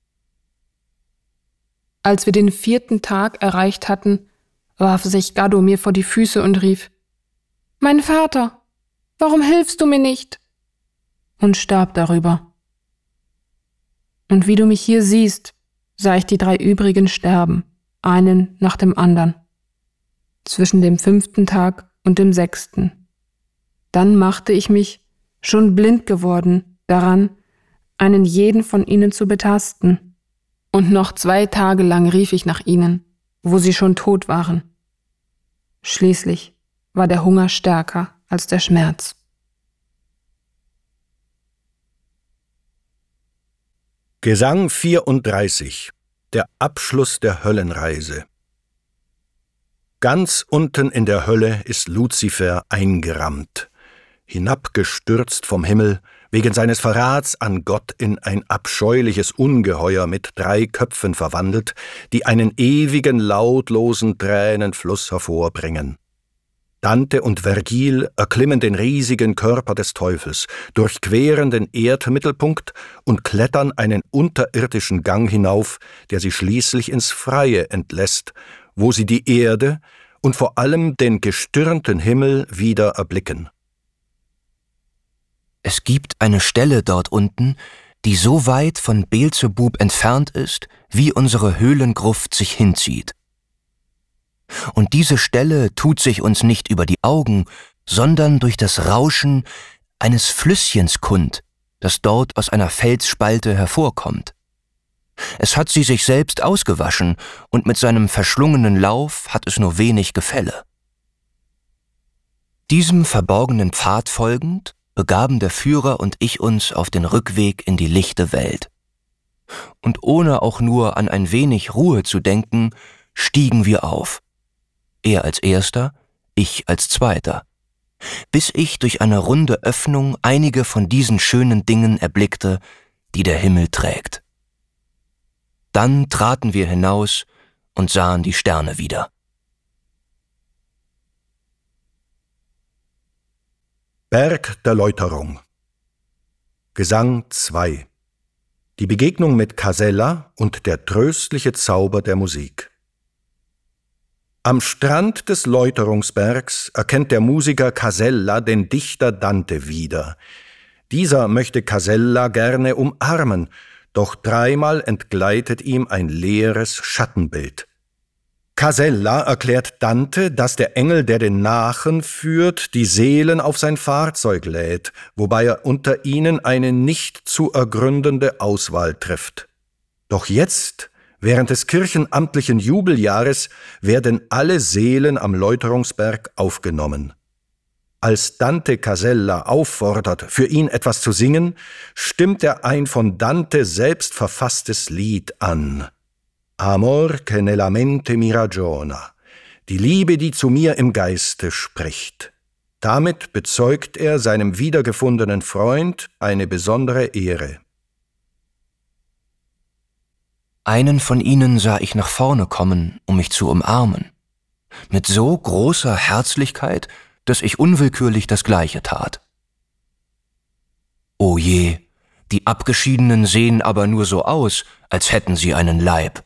Als wir den 4. Tag erreicht hatten, warf sich Gaddo mir vor die Füße und rief: »Mein Vater, warum hilfst du mir nicht?« und starb darüber. Und wie du mich hier siehst, sah ich die 3 übrigen sterben, einen nach dem andern, zwischen dem 5. Tag und dem 6. Dann machte ich mich, schon blind geworden, daran, einen jeden von ihnen zu betasten, und noch 2 Tage lang rief ich nach ihnen, wo sie schon tot waren. Schließlich war der Hunger stärker als der Schmerz. Gesang 34. Der Abschluss der Höllenreise. Ganz unten in der Hölle ist Luzifer eingerammt, hinabgestürzt vom Himmel, wegen seines Verrats an Gott in ein abscheuliches Ungeheuer mit 3 Köpfen verwandelt, die einen ewigen, lautlosen Tränenfluss hervorbringen. Dante und Vergil erklimmen den riesigen Körper des Teufels, durchqueren den Erdmittelpunkt und klettern einen unterirdischen Gang hinauf, der sie schließlich ins Freie entlässt, wo sie die Erde und vor allem den gestirnten Himmel wieder erblicken. Es gibt eine Stelle dort unten, die so weit von Beelzebub entfernt ist, wie unsere Höhlengruft sich hinzieht. Und diese Stelle tut sich uns nicht über die Augen, sondern durch das Rauschen eines Flüsschens kund, das dort aus einer Felsspalte hervorkommt. Es hat sie sich selbst ausgewaschen, und mit seinem verschlungenen Lauf hat es nur wenig Gefälle. Diesem verborgenen Pfad folgend begaben der Führer und ich uns auf den Rückweg in die lichte Welt. Und ohne auch nur an ein wenig Ruhe zu denken, stiegen wir auf. Er als Erster, ich als Zweiter, bis ich durch eine runde Öffnung einige von diesen schönen Dingen erblickte, die der Himmel trägt. Dann traten wir hinaus und sahen die Sterne wieder. Berg der Läuterung. Gesang 2. Die Begegnung mit Casella und der tröstliche Zauber der Musik. Am Strand des Läuterungsbergs erkennt der Musiker Casella den Dichter Dante wieder. Dieser möchte Casella gerne umarmen, doch dreimal entgleitet ihm ein leeres Schattenbild. Casella erklärt Dante, dass der Engel, der den Nachen führt, die Seelen auf sein Fahrzeug lädt, wobei er unter ihnen eine nicht zu ergründende Auswahl trifft. Doch jetzt, während des kirchenamtlichen Jubeljahres, werden alle Seelen am Läuterungsberg aufgenommen. Als Dante Casella auffordert, für ihn etwas zu singen, stimmt er ein von Dante selbst verfasstes Lied an. Amor che nella mente mi ragiona, die Liebe, die zu mir im Geiste spricht. Damit bezeugt er seinem wiedergefundenen Freund eine besondere Ehre. Einen von ihnen sah ich nach vorne kommen, um mich zu umarmen. Mit so großer Herzlichkeit, dass ich unwillkürlich das Gleiche tat. O je, die Abgeschiedenen sehen aber nur so aus, als hätten sie einen Leib.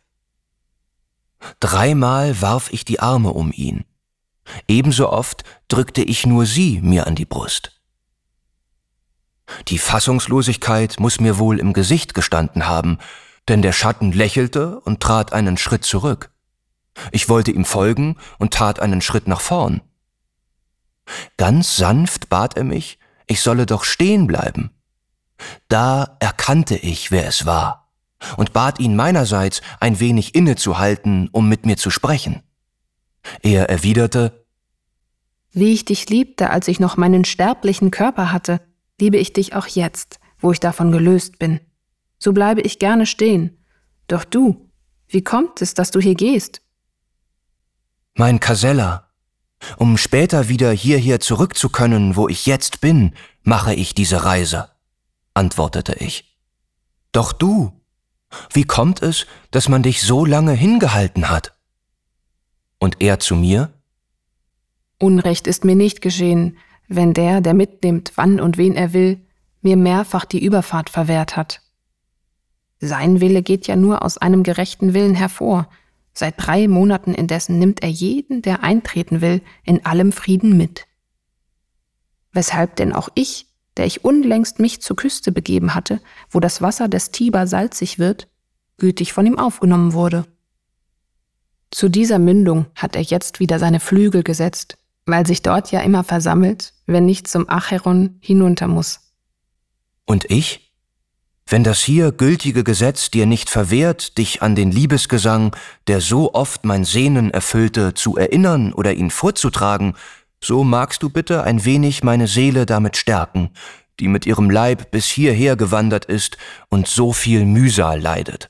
Dreimal warf ich die Arme um ihn. Ebenso oft drückte ich nur sie mir an die Brust. Die Fassungslosigkeit muss mir wohl im Gesicht gestanden haben, denn der Schatten lächelte und trat einen Schritt zurück. Ich wollte ihm folgen und tat einen Schritt nach vorn. Ganz sanft bat er mich, ich solle doch stehen bleiben. Da erkannte ich, wer es war, und bat ihn meinerseits, ein wenig innezuhalten, um mit mir zu sprechen. Er erwiderte: Wie ich dich liebte, als ich noch meinen sterblichen Körper hatte, liebe ich dich auch jetzt, wo ich davon gelöst bin. So bleibe ich gerne stehen. Doch du, wie kommt es, dass du hier gehst? Mein Casella, um später wieder hierher zurück zu können, wo ich jetzt bin, mache ich diese Reise, antwortete ich. Doch du, wie kommt es, dass man dich so lange hingehalten hat? Und er zu mir: Unrecht ist mir nicht geschehen, wenn der mitnimmt, wann und wen er will, mir mehrfach die Überfahrt verwehrt hat. Sein Wille geht ja nur aus einem gerechten Willen hervor. Seit 3 Monaten indessen nimmt er jeden, der eintreten will, in allem Frieden mit. Weshalb denn auch ich, der ich unlängst mich zur Küste begeben hatte, wo das Wasser des Tiber salzig wird, gütig von ihm aufgenommen wurde. Zu dieser Mündung hat er jetzt wieder seine Flügel gesetzt, weil sich dort ja immer versammelt, wenn nicht zum Acheron hinunter muss. Und ich? Wenn das hier gültige Gesetz dir nicht verwehrt, dich an den Liebesgesang, der so oft mein Sehnen erfüllte, zu erinnern oder ihn vorzutragen, so magst du bitte ein wenig meine Seele damit stärken, die mit ihrem Leib bis hierher gewandert ist und so viel Mühsal leidet.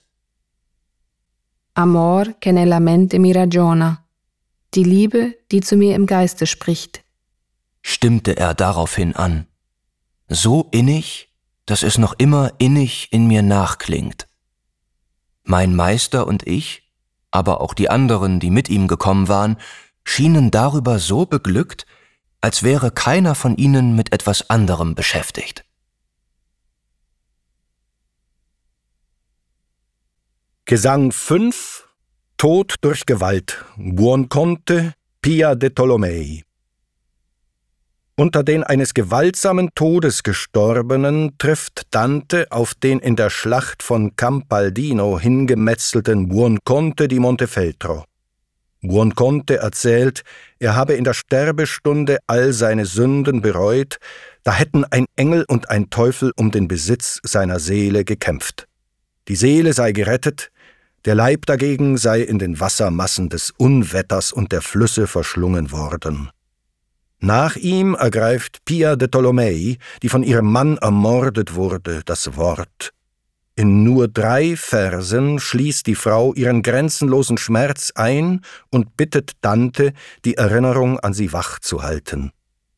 Amor che nella mente mi ragiona, die Liebe, die zu mir im Geiste spricht, stimmte er daraufhin an, so innig, dass es noch immer innig in mir nachklingt. Mein Meister und ich, aber auch die anderen, die mit ihm gekommen waren, schienen darüber so beglückt, als wäre keiner von ihnen mit etwas anderem beschäftigt. Gesang 5, Tod durch Gewalt, Buonconte, Pia de Tolomei. Unter den eines gewaltsamen Todes Gestorbenen trifft Dante auf den in der Schlacht von Campaldino hingemetzelten Buonconte di Montefeltro. Buonconte erzählt, er habe in der Sterbestunde all seine Sünden bereut, da hätten ein Engel und ein Teufel um den Besitz seiner Seele gekämpft. Die Seele sei gerettet, der Leib dagegen sei in den Wassermassen des Unwetters und der Flüsse verschlungen worden. Nach ihm ergreift Pia de Tolomei, die von ihrem Mann ermordet wurde, das Wort. In nur 3 Versen schließt die Frau ihren grenzenlosen Schmerz ein und bittet Dante, die Erinnerung an sie wach zu halten.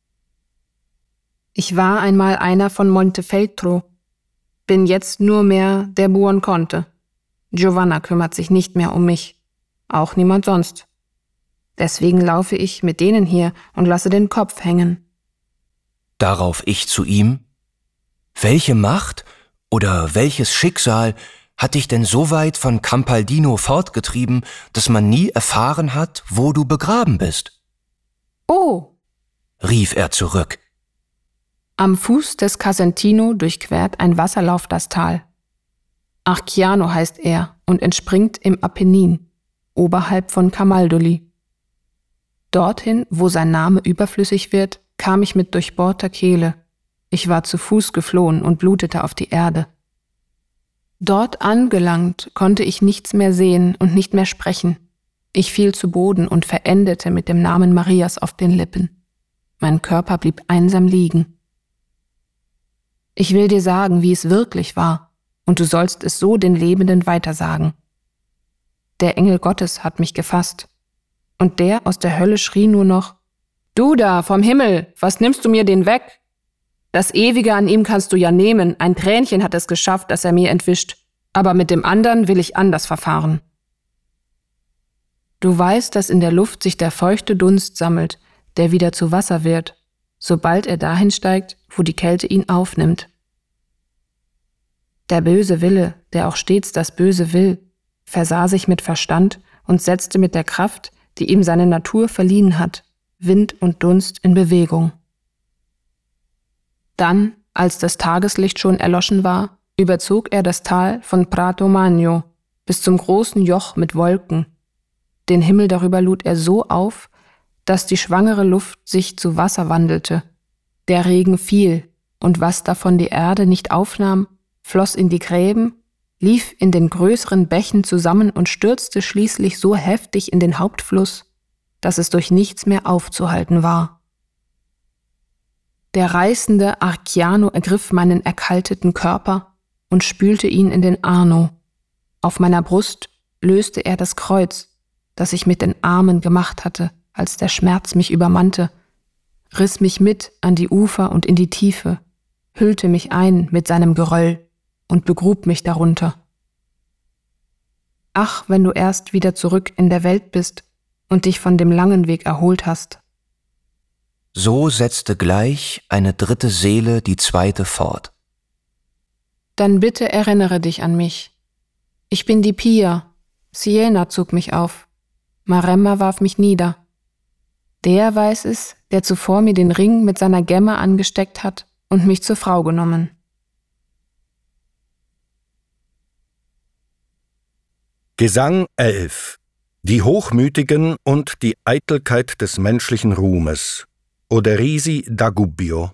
Ich war einmal einer von Montefeltro, bin jetzt nur mehr der Buonconte. Giovanna kümmert sich nicht mehr um mich, auch niemand sonst. Deswegen laufe ich mit denen hier und lasse den Kopf hängen. Darauf ich zu ihm: Welche Macht Oder welches Schicksal hat dich denn so weit von Campaldino fortgetrieben, dass man nie erfahren hat, wo du begraben bist?« »Oh«, rief er zurück. Am Fuß des Casentino durchquert ein Wasserlauf das Tal. Archiano heißt er und entspringt im Apennin, oberhalb von Camaldoli. Dorthin, wo sein Name überflüssig wird, kam ich mit durchbohrter Kehle. Ich war zu Fuß geflohen und blutete auf die Erde. Dort angelangt, konnte ich nichts mehr sehen und nicht mehr sprechen. Ich fiel zu Boden und verendete mit dem Namen Marias auf den Lippen. Mein Körper blieb einsam liegen. Ich will dir sagen, wie es wirklich war, und du sollst es so den Lebenden weitersagen. Der Engel Gottes hat mich gefasst, und der aus der Hölle schrie nur noch: »Du da, vom Himmel, was nimmst du mir den weg? Das Ewige an ihm kannst du ja nehmen, ein Tränchen hat es geschafft, das er mir entwischt, aber mit dem anderen will ich anders verfahren.« Du weißt, dass in der Luft sich der feuchte Dunst sammelt, der wieder zu Wasser wird, sobald er dahin steigt, wo die Kälte ihn aufnimmt. Der böse Wille, der auch stets das Böse will, versah sich mit Verstand und setzte mit der Kraft, die ihm seine Natur verliehen hat, Wind und Dunst in Bewegung. Dann, als das Tageslicht schon erloschen war, überzog er das Tal von Prato Magno bis zum großen Joch mit Wolken. Den Himmel darüber lud er so auf, dass die schwangere Luft sich zu Wasser wandelte. Der Regen fiel, und was davon die Erde nicht aufnahm, floss in die Gräben, lief in den größeren Bächen zusammen und stürzte schließlich so heftig in den Hauptfluss, dass es durch nichts mehr aufzuhalten war. Der reißende Archiano ergriff meinen erkalteten Körper und spülte ihn in den Arno. Auf meiner Brust löste er das Kreuz, das ich mit den Armen gemacht hatte, als der Schmerz mich übermannte, riss mich mit an die Ufer und in die Tiefe, hüllte mich ein mit seinem Geröll und begrub mich darunter. Ach, wenn du erst wieder zurück in der Welt bist und dich von dem langen Weg erholt hast. So setzte gleich eine dritte Seele die zweite fort. Dann bitte erinnere dich an mich. Ich bin die Pia. Siena zog mich auf. Maremma warf mich nieder. Der weiß es, der zuvor mir den Ring mit seiner Gemme angesteckt hat und mich zur Frau genommen. Gesang 11. Die Hochmütigen und die Eitelkeit des menschlichen Ruhmes. Oderisi da Gubbio.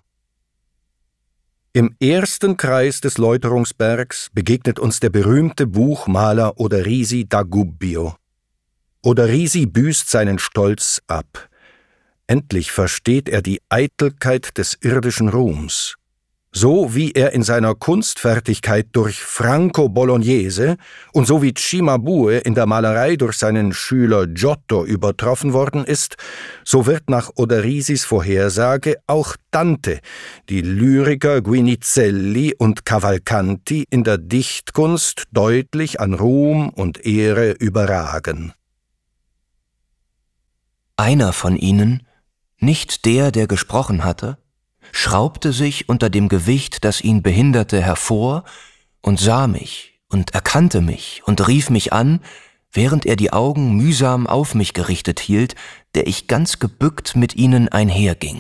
Im ersten Kreis des Läuterungsbergs begegnet uns der berühmte Buchmaler Oderisi da Gubbio. Oderisi büßt seinen Stolz ab. Endlich versteht er die Eitelkeit des irdischen Ruhms. So wie er in seiner Kunstfertigkeit durch Franco Bolognese und so wie Cimabue in der Malerei durch seinen Schüler Giotto übertroffen worden ist, so wird nach Oderisis Vorhersage auch Dante, die Lyriker Guinizelli und Cavalcanti in der Dichtkunst deutlich an Ruhm und Ehre überragen. Einer von ihnen, nicht der, der gesprochen hatte, schraubte sich unter dem Gewicht, das ihn behinderte, hervor und sah mich und erkannte mich und rief mich an, während er die Augen mühsam auf mich gerichtet hielt, der ich ganz gebückt mit ihnen einherging.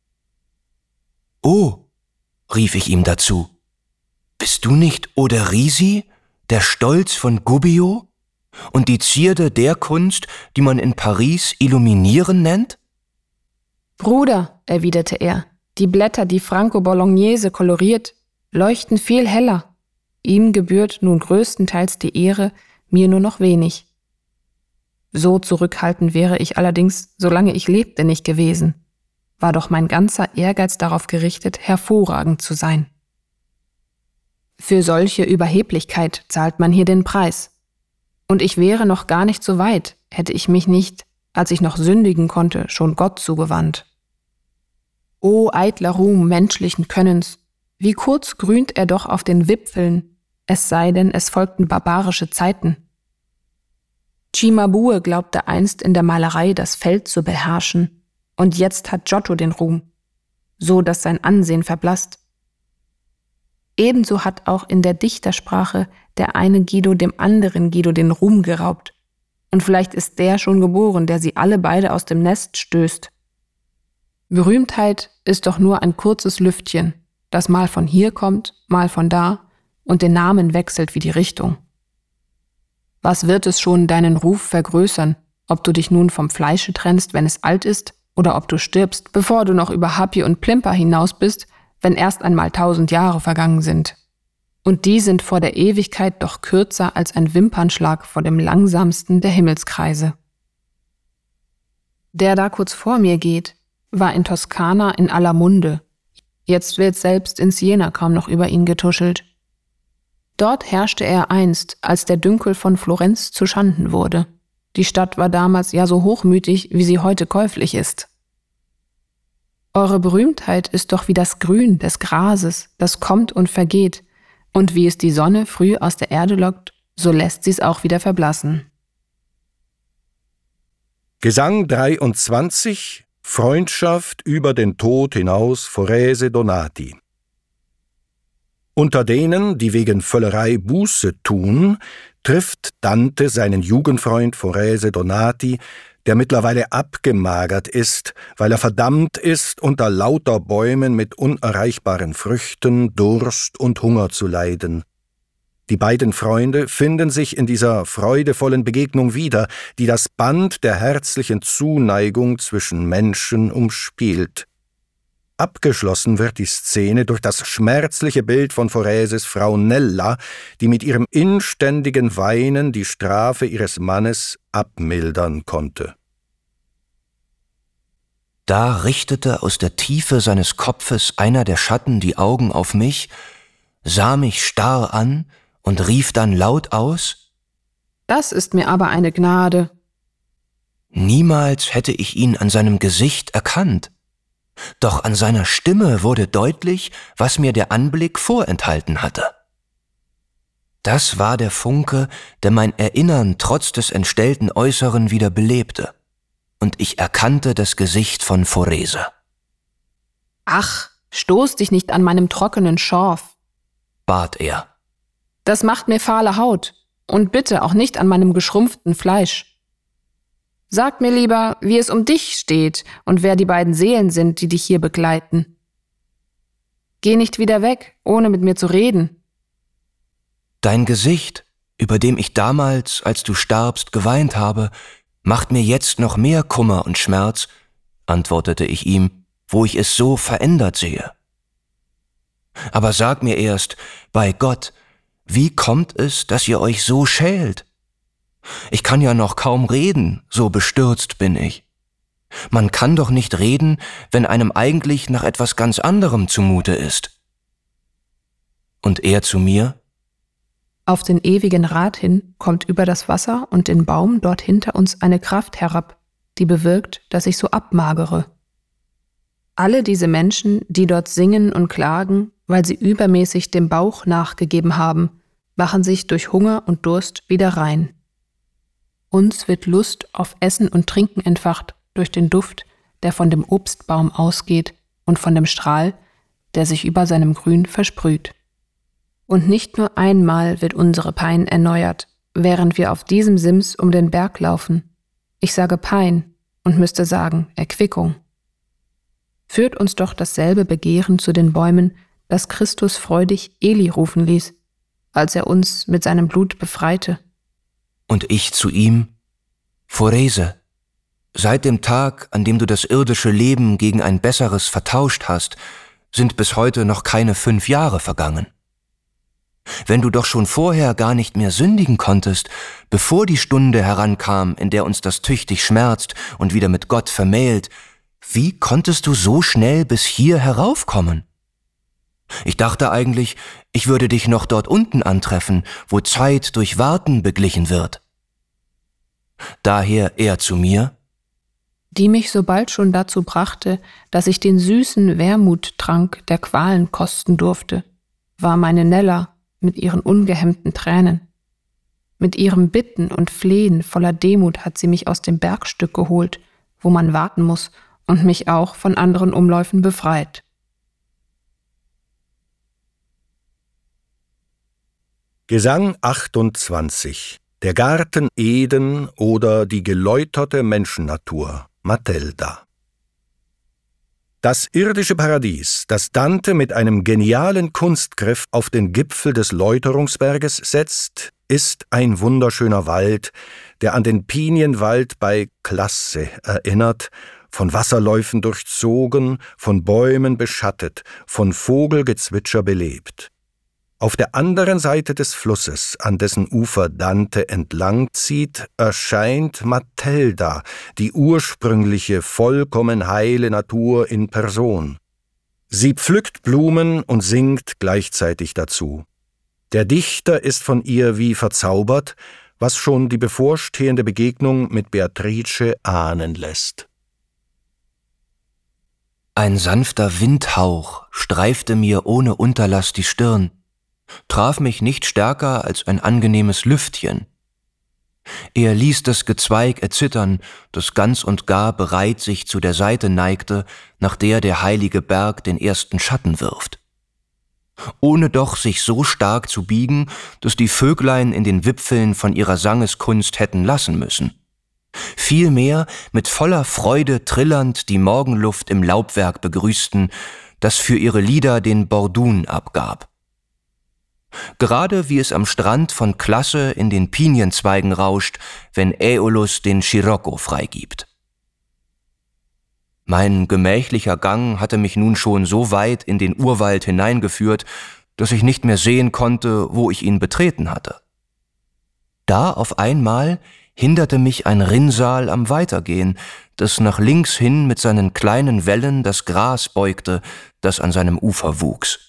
»Oh«, rief ich ihm dazu, »bist du nicht Oderisi, der Stolz von Gubbio und die Zierde der Kunst, die man in Paris Illuminieren nennt?« »Bruder«, erwiderte er, »die Blätter, die Franco Bolognese koloriert, leuchten viel heller. Ihm gebührt nun größtenteils die Ehre, mir nur noch wenig. So zurückhaltend wäre ich allerdings, solange ich lebte, nicht gewesen. War doch mein ganzer Ehrgeiz darauf gerichtet, hervorragend zu sein. Für solche Überheblichkeit zahlt man hier den Preis. Und ich wäre noch gar nicht so weit, hätte ich mich nicht, als ich noch sündigen konnte, schon Gott zugewandt. O eitler Ruhm menschlichen Könnens, wie kurz grünt er doch auf den Wipfeln, es sei denn, es folgten barbarische Zeiten. Cimabue glaubte einst in der Malerei das Feld zu beherrschen, und jetzt hat Giotto den Ruhm, so dass sein Ansehen verblasst. Ebenso hat auch in der Dichtersprache der eine Guido dem anderen Guido den Ruhm geraubt. Und vielleicht ist der schon geboren, der sie alle beide aus dem Nest stößt. Berühmtheit ist doch nur ein kurzes Lüftchen, das mal von hier kommt, mal von da und den Namen wechselt wie die Richtung. Was wird es schon deinen Ruf vergrößern, ob du dich nun vom Fleische trennst, wenn es alt ist, oder ob du stirbst, bevor du noch über Happy und Plimper hinaus bist, wenn erst einmal 1000 Jahre vergangen sind. Und die sind vor der Ewigkeit doch kürzer als ein Wimpernschlag vor dem langsamsten der Himmelskreise. Der da kurz vor mir geht, war in Toskana in aller Munde. Jetzt wird selbst in Siena kaum noch über ihn getuschelt. Dort herrschte er einst, als der Dünkel von Florenz zu Schanden wurde. Die Stadt war damals ja so hochmütig, wie sie heute käuflich ist. Eure Berühmtheit ist doch wie das Grün des Grases, das kommt und vergeht, und wie es die Sonne früh aus der Erde lockt, so lässt sie's auch wieder verblassen. Gesang 23, Freundschaft über den Tod hinaus, Forese Donati. Unter denen, die wegen Völlerei Buße tun, trifft Dante seinen Jugendfreund Forese Donati, der mittlerweile abgemagert ist, weil er verdammt ist, unter lauter Bäumen mit unerreichbaren Früchten, Durst und Hunger zu leiden. Die beiden Freunde finden sich in dieser freudevollen Begegnung wieder, die das Band der herzlichen Zuneigung zwischen Menschen umspielt. Abgeschlossen wird die Szene durch das schmerzliche Bild von Foreses Frau Nella, die mit ihrem inständigen Weinen die Strafe ihres Mannes abmildern konnte. Da richtete aus der Tiefe seines Kopfes einer der Schatten die Augen auf mich, sah mich starr an und rief dann laut aus: Das ist mir aber eine Gnade. Niemals hätte ich ihn an seinem Gesicht erkannt. Doch an seiner Stimme wurde deutlich, was mir der Anblick vorenthalten hatte. Das war der Funke, der mein Erinnern trotz des entstellten Äußeren wieder belebte, und ich erkannte das Gesicht von Forese. Ach, stoß dich nicht an meinem trockenen Schorf, bat er. Das macht mir fahle Haut, und bitte auch nicht an meinem geschrumpften Fleisch. Sag mir lieber, wie es um dich steht und wer die beiden Seelen sind, die dich hier begleiten. Geh nicht wieder weg, ohne mit mir zu reden. Dein Gesicht, über dem ich damals, als du starbst, geweint habe, macht mir jetzt noch mehr Kummer und Schmerz, antwortete ich ihm, wo ich es so verändert sehe. Aber sag mir erst, bei Gott, wie kommt es, dass ihr euch so schält? Ich kann ja noch kaum reden, so bestürzt bin ich. Man kann doch nicht reden, wenn einem eigentlich nach etwas ganz anderem zumute ist. Und er zu mir: Auf den ewigen Rat hin kommt über das Wasser und den Baum dort hinter uns eine Kraft herab, die bewirkt, dass ich so abmagere. Alle diese Menschen, die dort singen und klagen, weil sie übermäßig dem Bauch nachgegeben haben, machen sich durch Hunger und Durst wieder rein. Uns wird Lust auf Essen und Trinken entfacht durch den Duft, der von dem Obstbaum ausgeht und von dem Strahl, der sich über seinem Grün versprüht. Und nicht nur einmal wird unsere Pein erneuert, während wir auf diesem Sims um den Berg laufen. Ich sage Pein und müsste sagen Erquickung. Führt uns doch dasselbe Begehren zu den Bäumen, das Christus freudig Eli rufen ließ, als er uns mit seinem Blut befreite. Und ich zu ihm: Forese, seit dem Tag, an dem du das irdische Leben gegen ein besseres vertauscht hast, sind bis heute noch keine 5 Jahre vergangen. Wenn du doch schon vorher gar nicht mehr sündigen konntest, bevor die Stunde herankam, in der uns das tüchtig schmerzt und wieder mit Gott vermählt, wie konntest du so schnell bis hier heraufkommen? Ich dachte eigentlich, ich würde dich noch dort unten antreffen, wo Zeit durch Warten beglichen wird. Daher er zu mir: Die mich so bald schon dazu brachte, dass ich den süßen Wermuttrank der Qualen kosten durfte, war meine Nella mit ihren ungehemmten Tränen. Mit ihrem Bitten und Flehen voller Demut hat sie mich aus dem Bergstück geholt, wo man warten muss, und mich auch von anderen Umläufen befreit. Gesang 28. Der Garten Eden oder die geläuterte Menschennatur, Matilda. Das irdische Paradies, das Dante mit einem genialen Kunstgriff auf den Gipfel des Läuterungsberges setzt, ist ein wunderschöner Wald, der an den Pinienwald bei Classe erinnert, von Wasserläufen durchzogen, von Bäumen beschattet, von Vogelgezwitscher belebt. Auf der anderen Seite des Flusses, an dessen Ufer Dante entlang zieht, erscheint Matilda, die ursprüngliche, vollkommen heile Natur in Person. Sie pflückt Blumen und singt gleichzeitig dazu. Der Dichter ist von ihr wie verzaubert, was schon die bevorstehende Begegnung mit Beatrice ahnen lässt. Ein sanfter Windhauch streifte mir ohne Unterlass die Stirn, traf mich nicht stärker als ein angenehmes Lüftchen. Er ließ das Gezweig erzittern, das ganz und gar bereit sich zu der Seite neigte, nach der der heilige Berg den ersten Schatten wirft. Ohne doch sich so stark zu biegen, dass die Vöglein in den Wipfeln von ihrer Sangeskunst hätten lassen müssen. Vielmehr mit voller Freude trillernd die Morgenluft im Laubwerk begrüßten, das für ihre Lieder den Bordun abgab. Gerade wie es am Strand von Classe in den Pinienzweigen rauscht, wenn Äolus den Scirocco freigibt. Mein gemächlicher Gang hatte mich nun schon so weit in den Urwald hineingeführt, dass ich nicht mehr sehen konnte, wo ich ihn betreten hatte. Da auf einmal hinderte mich ein Rinnsal am Weitergehen, das nach links hin mit seinen kleinen Wellen das Gras beugte, das an seinem Ufer wuchs.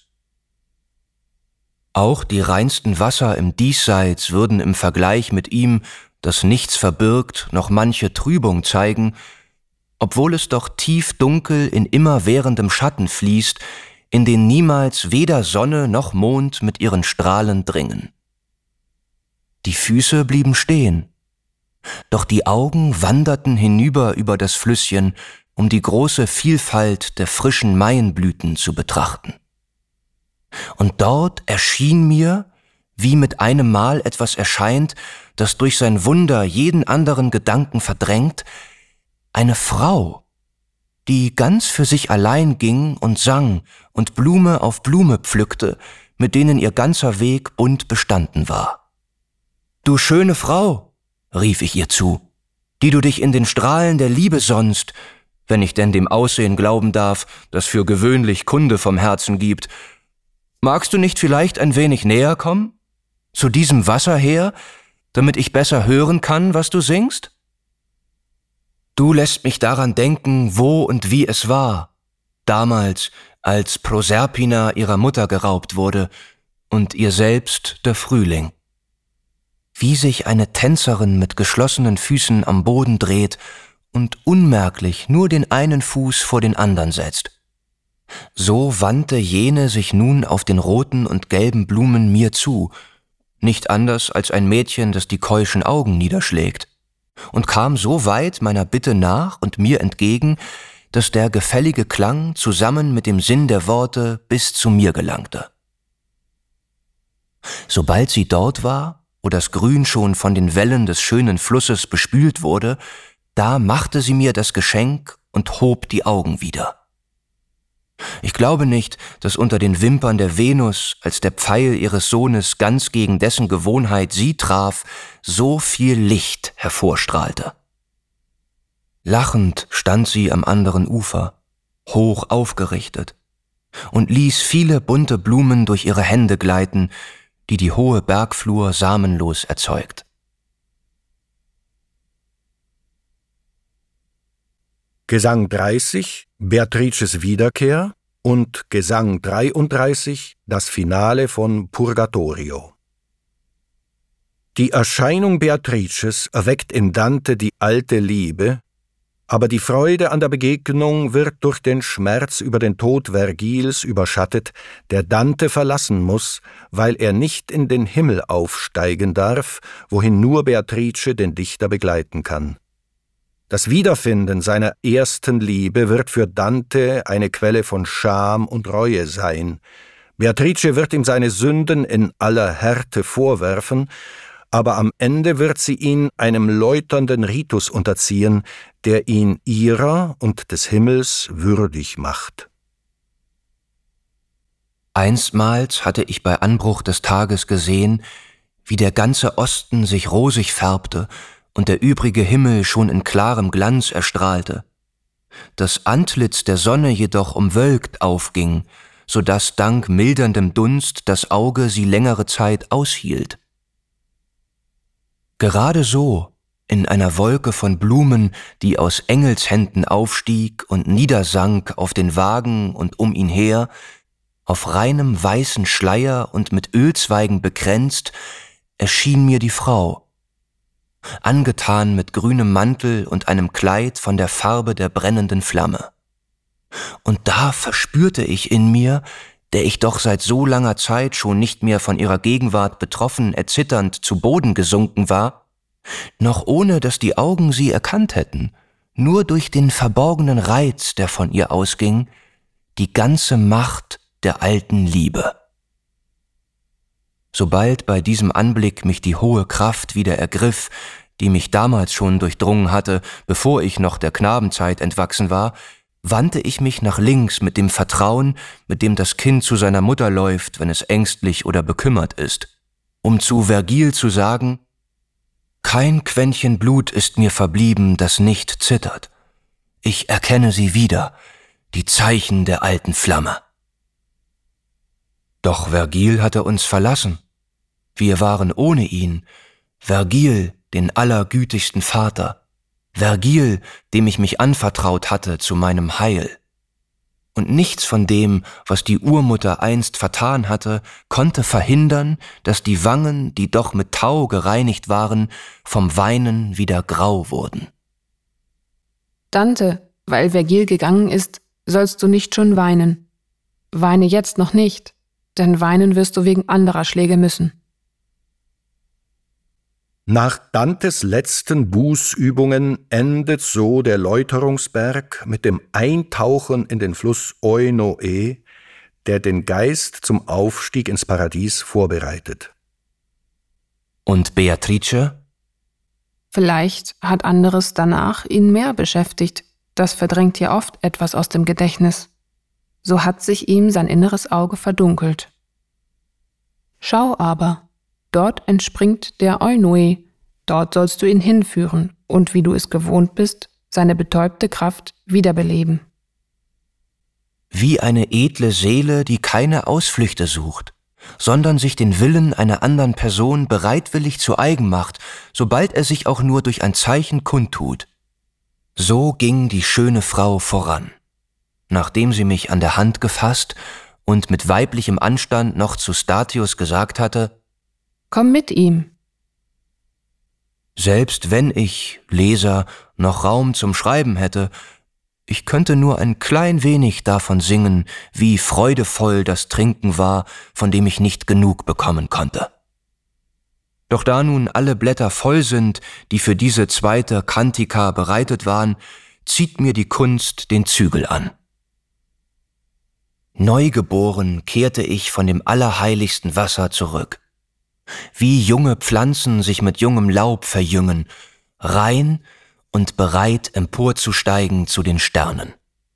Auch die reinsten Wasser im Diesseits würden im Vergleich mit ihm, das nichts verbirgt, noch manche Trübung zeigen, obwohl es doch tief dunkel in immerwährendem Schatten fließt, in den niemals weder Sonne noch Mond mit ihren Strahlen dringen. Die Füße blieben stehen, doch die Augen wanderten hinüber über das Flüsschen, um die große Vielfalt der frischen Maienblüten zu betrachten. Und dort erschien mir, wie mit einem Mal etwas erscheint, das durch sein Wunder jeden anderen Gedanken verdrängt, eine Frau, die ganz für sich allein ging und sang und Blume auf Blume pflückte, mit denen ihr ganzer Weg bunt bestanden war. »Du schöne Frau«, rief ich ihr zu, »die du dich in den Strahlen der Liebe sonnst, wenn ich denn dem Aussehen glauben darf, das für gewöhnlich Kunde vom Herzen gibt, magst du nicht vielleicht ein wenig näher kommen? Zu diesem Wasser her, damit ich besser hören kann, was du singst? Du lässt mich daran denken, wo und wie es war, damals, als Proserpina ihrer Mutter geraubt wurde und ihr selbst der Frühling. Wie sich eine Tänzerin mit geschlossenen Füßen am Boden dreht und unmerklich nur den einen Fuß vor den anderen setzt. So wandte jene sich nun auf den roten und gelben Blumen mir zu, nicht anders als ein Mädchen, das die keuschen Augen niederschlägt, und kam so weit meiner Bitte nach und mir entgegen, dass der gefällige Klang zusammen mit dem Sinn der Worte bis zu mir gelangte. Sobald sie dort war, wo das Grün schon von den Wellen des schönen Flusses bespült wurde, da machte sie mir das Geschenk und hob die Augen wieder. Ich glaube nicht, dass unter den Wimpern der Venus, als der Pfeil ihres Sohnes ganz gegen dessen Gewohnheit sie traf, so viel Licht hervorstrahlte. Lachend stand sie am anderen Ufer, hoch aufgerichtet, und ließ viele bunte Blumen durch ihre Hände gleiten, die die hohe Bergflur samenlos erzeugt. Gesang 30, Beatrices Wiederkehr, und Gesang 33, das Finale von Purgatorio. Die Erscheinung Beatrices erweckt in Dante die alte Liebe, aber die Freude an der Begegnung wird durch den Schmerz über den Tod Vergils überschattet, der Dante verlassen muss, weil er nicht in den Himmel aufsteigen darf, wohin nur Beatrice den Dichter begleiten kann. Das Wiederfinden seiner ersten Liebe wird für Dante eine Quelle von Scham und Reue sein. Beatrice wird ihm seine Sünden in aller Härte vorwerfen, aber am Ende wird sie ihn einem läuternden Ritus unterziehen, der ihn ihrer und des Himmels würdig macht. Einstmals hatte ich bei Anbruch des Tages gesehen, wie der ganze Osten sich rosig färbte und der übrige Himmel schon in klarem Glanz erstrahlte. Das Antlitz der Sonne jedoch umwölkt aufging, so daß dank milderndem Dunst das Auge sie längere Zeit aushielt. Gerade so, in einer Wolke von Blumen, die aus Engelshänden aufstieg und niedersank auf den Wagen und um ihn her, auf reinem weißen Schleier und mit Ölzweigen bekränzt, erschien mir die Frau, angetan mit grünem Mantel und einem Kleid von der Farbe der brennenden Flamme. Und da verspürte ich in mir, der ich doch seit so langer Zeit schon nicht mehr von ihrer Gegenwart betroffen, erzitternd zu Boden gesunken war, noch ohne dass die Augen sie erkannt hätten, nur durch den verborgenen Reiz, der von ihr ausging, die ganze Macht der alten Liebe. Sobald bei diesem Anblick mich die hohe Kraft wieder ergriff, die mich damals schon durchdrungen hatte, bevor ich noch der Knabenzeit entwachsen war, wandte ich mich nach links mit dem Vertrauen, mit dem das Kind zu seiner Mutter läuft, wenn es ängstlich oder bekümmert ist, um zu Vergil zu sagen: Kein Quäntchen Blut ist mir verblieben, das nicht zittert. Ich erkenne sie wieder, die Zeichen der alten Flamme. Doch Vergil hatte uns verlassen. Wir waren ohne ihn, Vergil, den allergütigsten Vater, Vergil, dem ich mich anvertraut hatte zu meinem Heil. Und nichts von dem, was die Urmutter einst vertan hatte, konnte verhindern, dass die Wangen, die doch mit Tau gereinigt waren, vom Weinen wieder grau wurden. Dante, weil Vergil gegangen ist, sollst du nicht schon weinen. Weine jetzt noch nicht, denn weinen wirst du wegen anderer Schläge müssen. Nach Dantes letzten Bußübungen endet so der Läuterungsberg mit dem Eintauchen in den Fluss Oinoe, der den Geist zum Aufstieg ins Paradies vorbereitet. Und Beatrice? Vielleicht hat anderes danach ihn mehr beschäftigt. Das verdrängt ja oft etwas aus dem Gedächtnis. So hat sich ihm sein inneres Auge verdunkelt. Schau aber, dort entspringt der Oinoe, dort sollst du ihn hinführen und, wie du es gewohnt bist, seine betäubte Kraft wiederbeleben. Wie eine edle Seele, die keine Ausflüchte sucht, sondern sich den Willen einer anderen Person bereitwillig zu eigen macht, sobald er sich auch nur durch ein Zeichen kundtut. So ging die schöne Frau voran, nachdem sie mich an der Hand gefasst und mit weiblichem Anstand noch zu Statius gesagt hatte: Komm mit ihm. Selbst wenn ich, Leser, noch Raum zum Schreiben hätte, ich könnte nur ein klein wenig davon singen, wie freudevoll das Trinken war, von dem ich nicht genug bekommen konnte. Doch da nun alle Blätter voll sind, die für diese zweite Cantica bereitet waren, zieht mir die Kunst den Zügel an. Neugeboren kehrte ich von dem allerheiligsten Wasser zurück. Wie junge Pflanzen sich mit jungem Laub verjüngen, rein und bereit emporzusteigen zu den Sternen.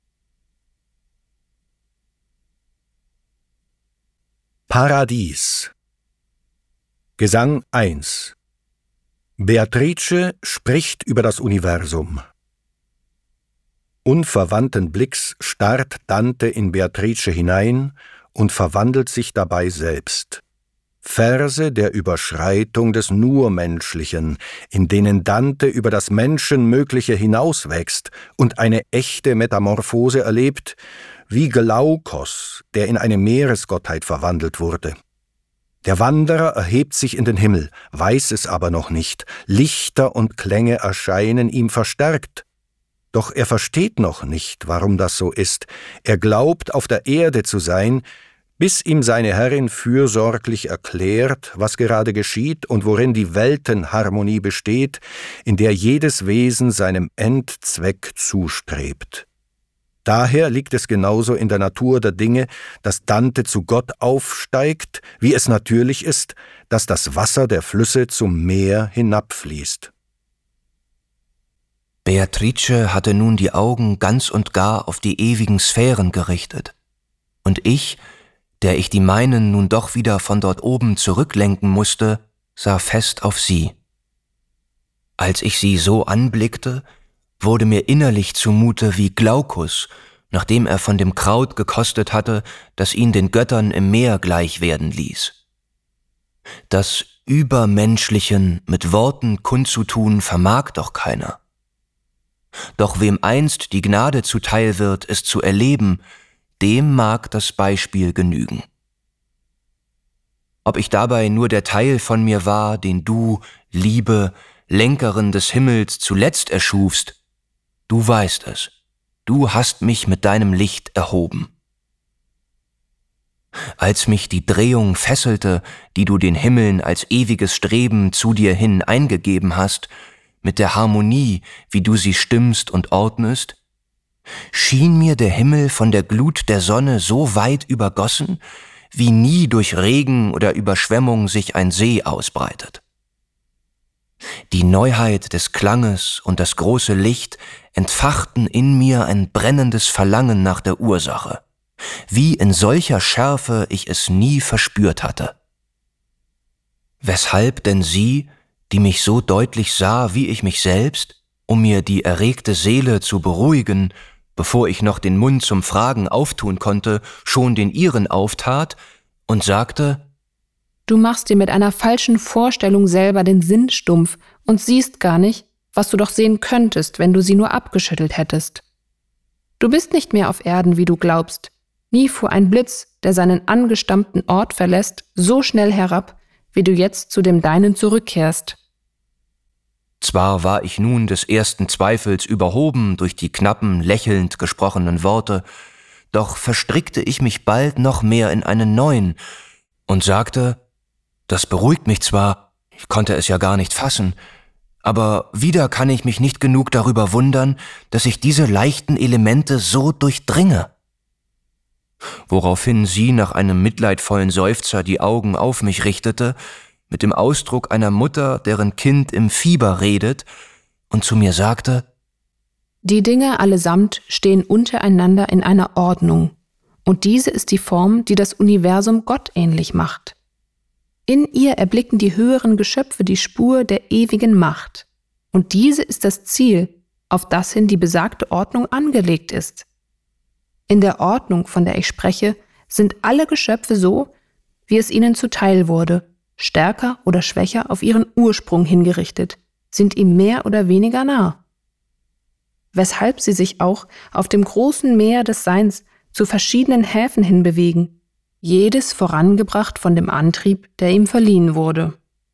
Paradies. Gesang 1. Beatrice spricht über das Universum. Unverwandten Blicks starrt Dante in Beatrice hinein und verwandelt sich dabei selbst. Verse der Überschreitung des Nurmenschlichen, in denen Dante über das Menschenmögliche hinauswächst und eine echte Metamorphose erlebt, wie Glaukos, der in eine Meeresgottheit verwandelt wurde. Der Wanderer erhebt sich in den Himmel, weiß es aber noch nicht. Lichter und Klänge erscheinen ihm verstärkt. Doch er versteht noch nicht, warum das so ist. Er glaubt, auf der Erde zu sein, bis ihm seine Herrin fürsorglich erklärt, was gerade geschieht und worin die Weltenharmonie besteht, in der jedes Wesen seinem Endzweck zustrebt. Daher liegt es genauso in der Natur der Dinge, dass Dante zu Gott aufsteigt, wie es natürlich ist, dass das Wasser der Flüsse zum Meer hinabfließt. Beatrice hatte nun die Augen ganz und gar auf die ewigen Sphären gerichtet, und ich, der ich die meinen nun doch wieder von dort oben zurücklenken musste, sah fest auf sie. Als ich sie so anblickte, wurde mir innerlich zumute wie Glaucus, nachdem er von dem Kraut gekostet hatte, das ihn den Göttern im Meer gleich werden ließ. Das Übermenschlichen mit Worten kundzutun vermag doch keiner. Doch wem einst die Gnade zuteil wird, es zu erleben, dem mag das Beispiel genügen. Ob ich dabei nur der Teil von mir war, den du, Liebe, Lenkerin des Himmels, zuletzt erschufst, du weißt es, du hast mich mit deinem Licht erhoben. Als mich die Drehung fesselte, die du den Himmeln als ewiges Streben zu dir hin eingegeben hast, mit der Harmonie, wie du sie stimmst und ordnest, schien mir der Himmel von der Glut der Sonne so weit übergossen, wie nie durch Regen oder Überschwemmung sich ein See ausbreitet. Die Neuheit des Klanges und das große Licht entfachten in mir ein brennendes Verlangen nach der Ursache, wie in solcher Schärfe ich es nie verspürt hatte. Weshalb denn sie, die mich so deutlich sah wie ich mich selbst, um mir die erregte Seele zu beruhigen, bevor ich noch den Mund zum Fragen auftun konnte, schon den ihren auftat und sagte: Du machst dir mit einer falschen Vorstellung selber den Sinn stumpf und siehst gar nicht, was du doch sehen könntest, wenn du sie nur abgeschüttelt hättest. Du bist nicht mehr auf Erden, wie du glaubst. Nie fuhr ein Blitz, der seinen angestammten Ort verlässt, so schnell herab, wie du jetzt zu dem Deinen zurückkehrst. Zwar war ich nun des ersten Zweifels überhoben durch die knappen, lächelnd gesprochenen Worte, doch verstrickte ich mich bald noch mehr in einen neuen und sagte: Das beruhigt mich zwar, ich konnte es ja gar nicht fassen, aber wieder kann ich mich nicht genug darüber wundern, dass ich diese leichten Elemente so durchdringe. Woraufhin sie nach einem mitleidvollen Seufzer die Augen auf mich richtete, mit dem Ausdruck einer Mutter, deren Kind im Fieber redet, und zu mir sagte: Die Dinge allesamt stehen untereinander in einer Ordnung, und diese ist die Form, die das Universum Gott ähnlich macht. In ihr erblicken die höheren Geschöpfe die Spur der ewigen Macht, und diese ist das Ziel, auf das hin die besagte Ordnung angelegt ist. In der Ordnung, von der ich spreche, sind alle Geschöpfe so, wie es ihnen zuteil wurde, stärker oder schwächer auf ihren Ursprung hingerichtet, sind ihm mehr oder weniger nah. Weshalb sie sich auch auf dem großen Meer des Seins zu verschiedenen Häfen hin bewegen, jedes vorangebracht von dem Antrieb, der ihm verliehen wurde.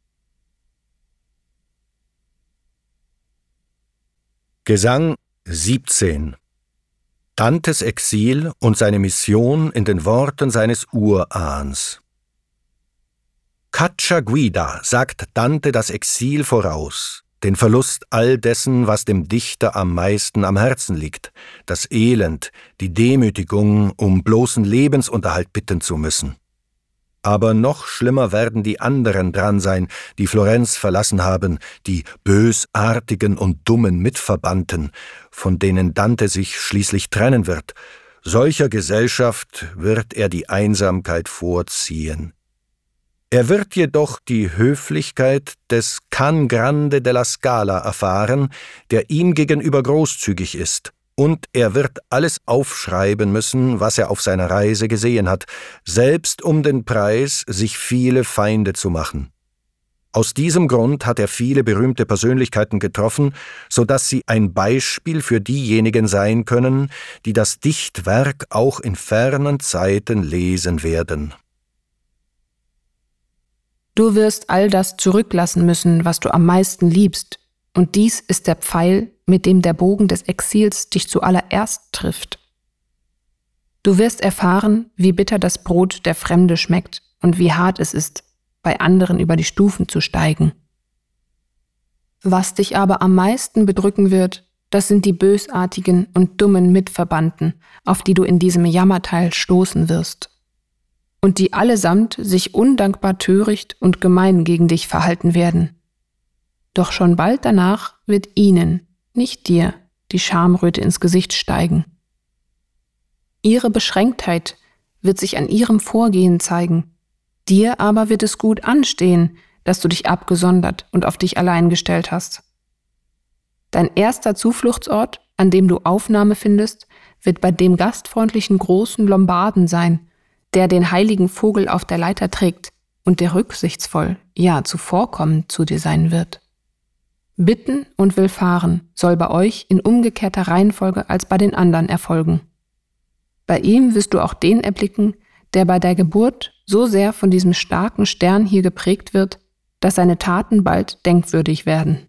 Gesang 17. Dantes Exil und seine Mission in den Worten seines Urahns. Caccia guida sagt Dante das Exil voraus, den Verlust all dessen, was dem Dichter am meisten am Herzen liegt, das Elend, die Demütigung, um bloßen Lebensunterhalt bitten zu müssen. Aber noch schlimmer werden die anderen dran sein, die Florenz verlassen haben, die bösartigen und dummen Mitverbannten, von denen Dante sich schließlich trennen wird. Solcher Gesellschaft wird er die Einsamkeit vorziehen. Er wird jedoch die Höflichkeit des Can Grande della Scala erfahren, der ihm gegenüber großzügig ist, und er wird alles aufschreiben müssen, was er auf seiner Reise gesehen hat, selbst um den Preis, sich viele Feinde zu machen. Aus diesem Grund hat er viele berühmte Persönlichkeiten getroffen, so dass sie ein Beispiel für diejenigen sein können, die das Dichtwerk auch in fernen Zeiten lesen werden. Du wirst all das zurücklassen müssen, was du am meisten liebst, und dies ist der Pfeil, mit dem der Bogen des Exils dich zuallererst trifft. Du wirst erfahren, wie bitter das Brot der Fremde schmeckt und wie hart es ist, bei anderen über die Stufen zu steigen. Was dich aber am meisten bedrücken wird, das sind die bösartigen und dummen Mitverbannten, auf die du in diesem Jammerteil stoßen wirst. Und die allesamt sich undankbar töricht und gemein gegen dich verhalten werden. Doch schon bald danach wird ihnen, nicht dir, die Schamröte ins Gesicht steigen. Ihre Beschränktheit wird sich an ihrem Vorgehen zeigen. Dir aber wird es gut anstehen, dass du dich abgesondert und auf dich allein gestellt hast. Dein erster Zufluchtsort, an dem du Aufnahme findest, wird bei dem gastfreundlichen großen Lombarden sein, der den heiligen Vogel auf der Leiter trägt und der rücksichtsvoll, ja zuvorkommend zu dir sein wird. Bitten und Willfahren soll bei euch in umgekehrter Reihenfolge als bei den anderen erfolgen. Bei ihm wirst du auch den erblicken, der bei der Geburt so sehr von diesem starken Stern hier geprägt wird, dass seine Taten bald denkwürdig werden.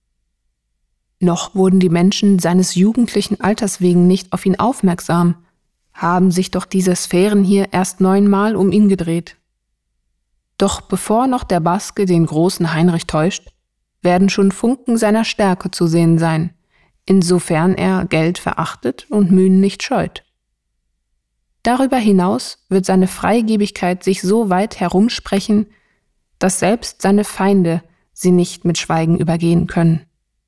Noch wurden die Menschen seines jugendlichen Alters wegen nicht auf ihn aufmerksam, haben sich doch diese Sphären hier erst 9-mal um ihn gedreht. Doch bevor noch der Baske den großen Heinrich täuscht, werden schon Funken seiner Stärke zu sehen sein, insofern er Geld verachtet und Mühen nicht scheut. Darüber hinaus wird seine Freigebigkeit sich so weit herumsprechen, dass selbst seine Feinde sie nicht mit Schweigen übergehen können.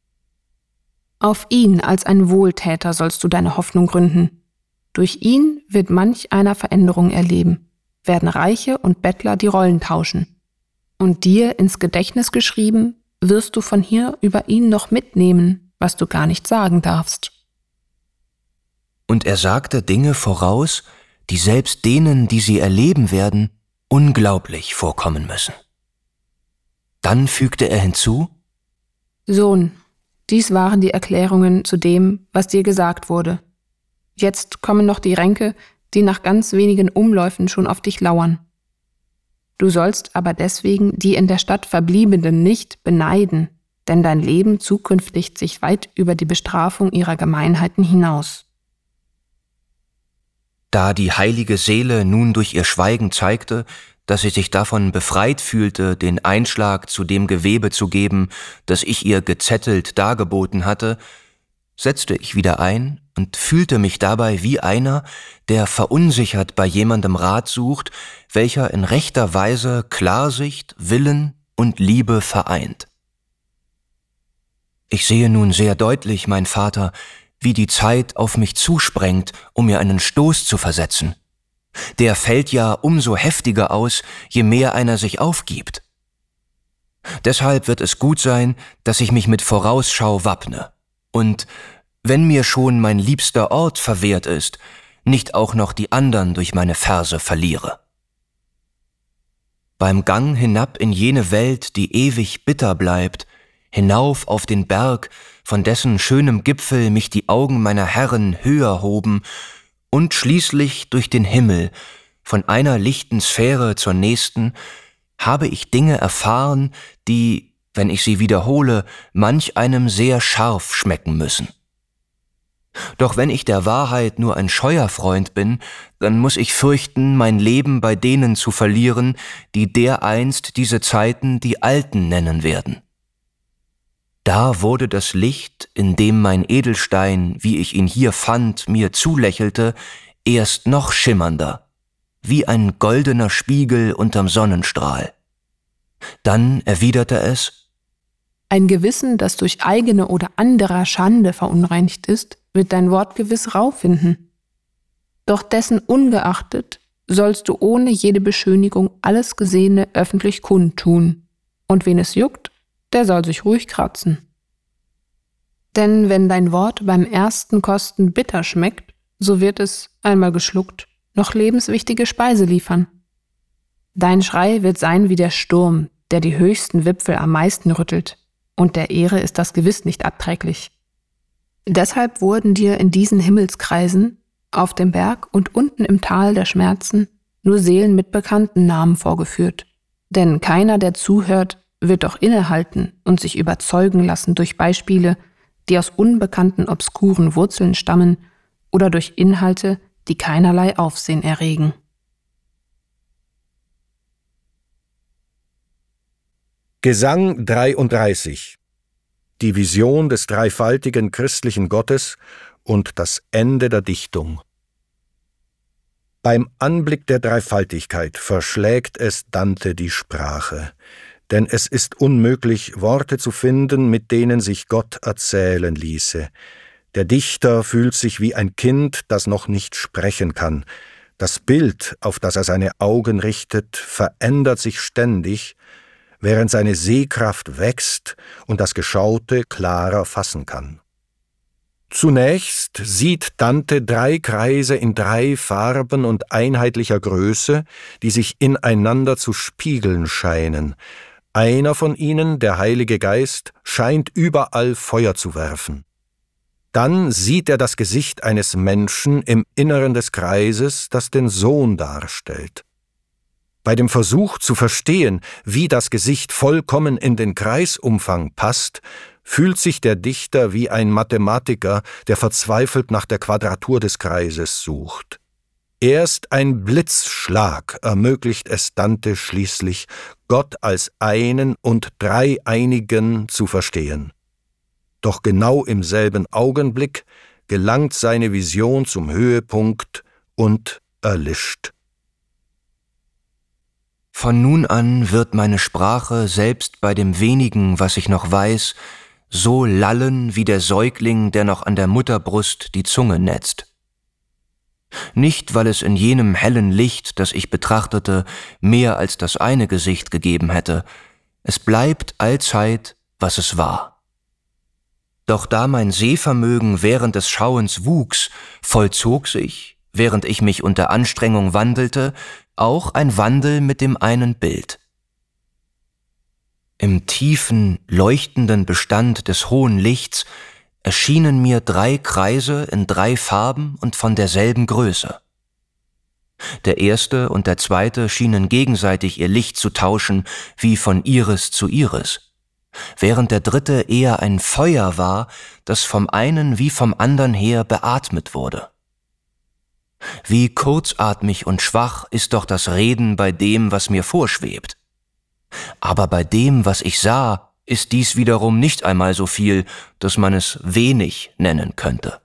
Auf ihn als ein Wohltäter sollst du deine Hoffnung gründen. Durch ihn wird manch einer Veränderung erleben, werden Reiche und Bettler die Rollen tauschen. Und dir ins Gedächtnis geschrieben, wirst du von hier über ihn noch mitnehmen, was du gar nicht sagen darfst. Und er sagte Dinge voraus, die selbst denen, die sie erleben werden, unglaublich vorkommen müssen. Dann fügte er hinzu: Sohn, dies waren die Erklärungen zu dem, was dir gesagt wurde. Jetzt kommen noch die Ränke, die nach ganz wenigen Umläufen schon auf dich lauern. Du sollst aber deswegen die in der Stadt Verbliebenen nicht beneiden, denn dein Leben zukünftig sich weit über die Bestrafung ihrer Gemeinheiten hinaus. Da die heilige Seele nun durch ihr Schweigen zeigte, dass sie sich davon befreit fühlte, den Einschlag zu dem Gewebe zu geben, das ich ihr gezettelt dargeboten hatte, setzte ich wieder ein und fühlte mich dabei wie einer, der verunsichert bei jemandem Rat sucht, welcher in rechter Weise Klarsicht, Willen und Liebe vereint. Ich sehe nun sehr deutlich, mein Vater, wie die Zeit auf mich zusprengt, um mir einen Stoß zu versetzen. Der fällt ja umso heftiger aus, je mehr einer sich aufgibt. Deshalb wird es gut sein, dass ich mich mit Vorausschau wappne und, wenn mir schon mein liebster Ort verwehrt ist, nicht auch noch die andern durch meine Verse verliere. Beim Gang hinab in jene Welt, die ewig bitter bleibt, hinauf auf den Berg, von dessen schönem Gipfel mich die Augen meiner Herren höher hoben, und schließlich durch den Himmel, von einer lichten Sphäre zur nächsten, habe ich Dinge erfahren, die, wenn ich sie wiederhole, manch einem sehr scharf schmecken müssen. Doch wenn ich der Wahrheit nur ein scheuer Freund bin, dann muss ich fürchten, mein Leben bei denen zu verlieren, die dereinst diese Zeiten die Alten nennen werden. Da wurde das Licht, in dem mein Edelstein, wie ich ihn hier fand, mir zulächelte, erst noch schimmernder, wie ein goldener Spiegel unterm Sonnenstrahl. Dann erwiderte es: Ein Gewissen, das durch eigene oder anderer Schande verunreinigt ist, wird dein Wort gewiss Rau finden. Doch dessen ungeachtet sollst du ohne jede Beschönigung alles Gesehene öffentlich kundtun. Und wen es juckt, der soll sich ruhig kratzen. Denn wenn dein Wort beim ersten Kosten bitter schmeckt, so wird es, einmal geschluckt, noch lebenswichtige Speise liefern. Dein Schrei wird sein wie der Sturm, der die höchsten Wipfel am meisten rüttelt, und der Ehre ist das gewiss nicht abträglich. Deshalb wurden dir in diesen Himmelskreisen, auf dem Berg und unten im Tal der Schmerzen, nur Seelen mit bekannten Namen vorgeführt. Denn keiner, der zuhört, wird doch innehalten und sich überzeugen lassen durch Beispiele, die aus unbekannten obskuren Wurzeln stammen oder durch Inhalte, die keinerlei Aufsehen erregen. Gesang 33. die Vision des dreifaltigen christlichen Gottes und das Ende der Dichtung. Beim Anblick der Dreifaltigkeit verschlägt es Dante die Sprache, denn es ist unmöglich, Worte zu finden, mit denen sich Gott erzählen ließe. Der Dichter fühlt sich wie ein Kind, das noch nicht sprechen kann. Das Bild, auf das er seine Augen richtet, verändert sich ständig, während seine Sehkraft wächst und das Geschaute klarer fassen kann. Zunächst sieht Dante 3 Kreise in 3 Farben und einheitlicher Größe, die sich ineinander zu spiegeln scheinen. Einer von ihnen, der Heilige Geist, scheint überall Feuer zu werfen. Dann sieht er das Gesicht eines Menschen im Inneren des Kreises, das den Sohn darstellt. Bei dem Versuch zu verstehen, wie das Gesicht vollkommen in den Kreisumfang passt, fühlt sich der Dichter wie ein Mathematiker, der verzweifelt nach der Quadratur des Kreises sucht. Erst ein Blitzschlag ermöglicht es Dante schließlich, Gott als einen und dreieinigen zu verstehen. Doch genau im selben Augenblick gelangt seine Vision zum Höhepunkt und erlischt. Von nun an wird meine Sprache selbst bei dem wenigen, was ich noch weiß, so lallen wie der Säugling, der noch an der Mutterbrust die Zunge netzt. Nicht, weil es in jenem hellen Licht, das ich betrachtete, mehr als das eine Gesicht gegeben hätte. Es bleibt allzeit, was es war. Doch da mein Sehvermögen während des Schauens wuchs, vollzog sich, während ich mich unter Anstrengung wandelte, auch ein Wandel mit dem einen Bild. Im tiefen, leuchtenden Bestand des hohen Lichts erschienen mir 3 Kreise in 3 Farben und von derselben Größe. Der erste und der zweite schienen gegenseitig ihr Licht zu tauschen, wie von Iris zu Iris, während der dritte eher ein Feuer war, das vom einen wie vom andern her beatmet wurde. Wie kurzatmig und schwach ist doch das Reden bei dem, was mir vorschwebt. Aber bei dem, was ich sah, ist dies wiederum nicht einmal so viel, dass man es wenig nennen könnte.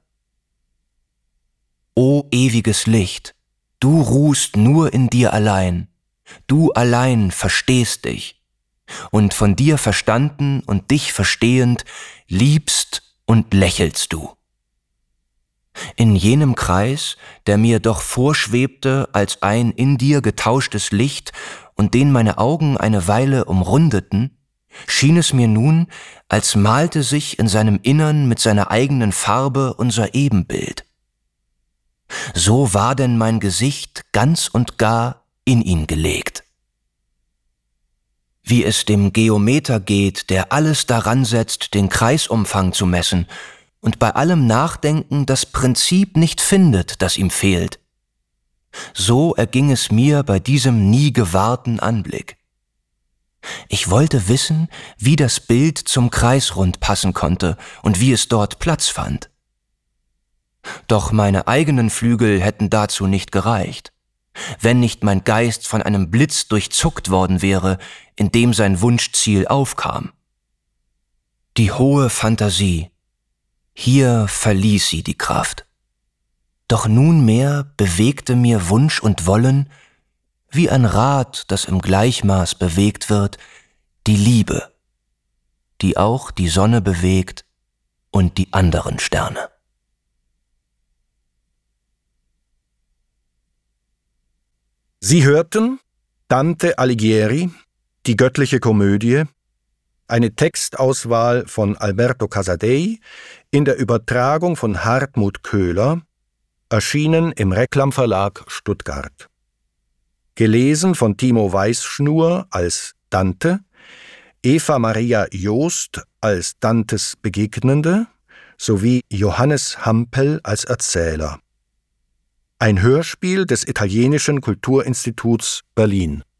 O ewiges Licht, du ruhst nur in dir allein, du allein verstehst dich, und von dir verstanden und dich verstehend, liebst und lächelst du. In jenem Kreis, der mir doch vorschwebte als ein in dir getauschtes Licht und den meine Augen eine Weile umrundeten, schien es mir nun, als malte sich in seinem Innern mit seiner eigenen Farbe unser Ebenbild. So war denn mein Gesicht ganz und gar in ihn gelegt. Wie es dem Geometer geht, der alles daran setzt, den Kreisumfang zu messen, und bei allem Nachdenken das Prinzip nicht findet, das ihm fehlt. So erging es mir bei diesem nie gewahrten Anblick. Ich wollte wissen, wie das Bild zum Kreisrund passen konnte und wie es dort Platz fand. Doch meine eigenen Flügel hätten dazu nicht gereicht, wenn nicht mein Geist von einem Blitz durchzuckt worden wäre, in dem sein Wunschziel aufkam. Die hohe Fantasie, hier verließ sie die Kraft. Doch nunmehr bewegte mir Wunsch und Wollen, wie ein Rad, das im Gleichmaß bewegt wird, die Liebe, die auch die Sonne bewegt und die anderen Sterne. Sie hörten Dante Alighieri, die göttliche Komödie, eine Textauswahl von Alberto Casadei in der Übertragung von Hartmut Köhler, erschienen im Reklam Verlag Stuttgart. Gelesen von Timo Weißschnur als Dante, Eva Maria Joost als Dantes Begegnende sowie Johannes Hampel als Erzähler. Ein Hörspiel des Italienischen Kulturinstituts Berlin.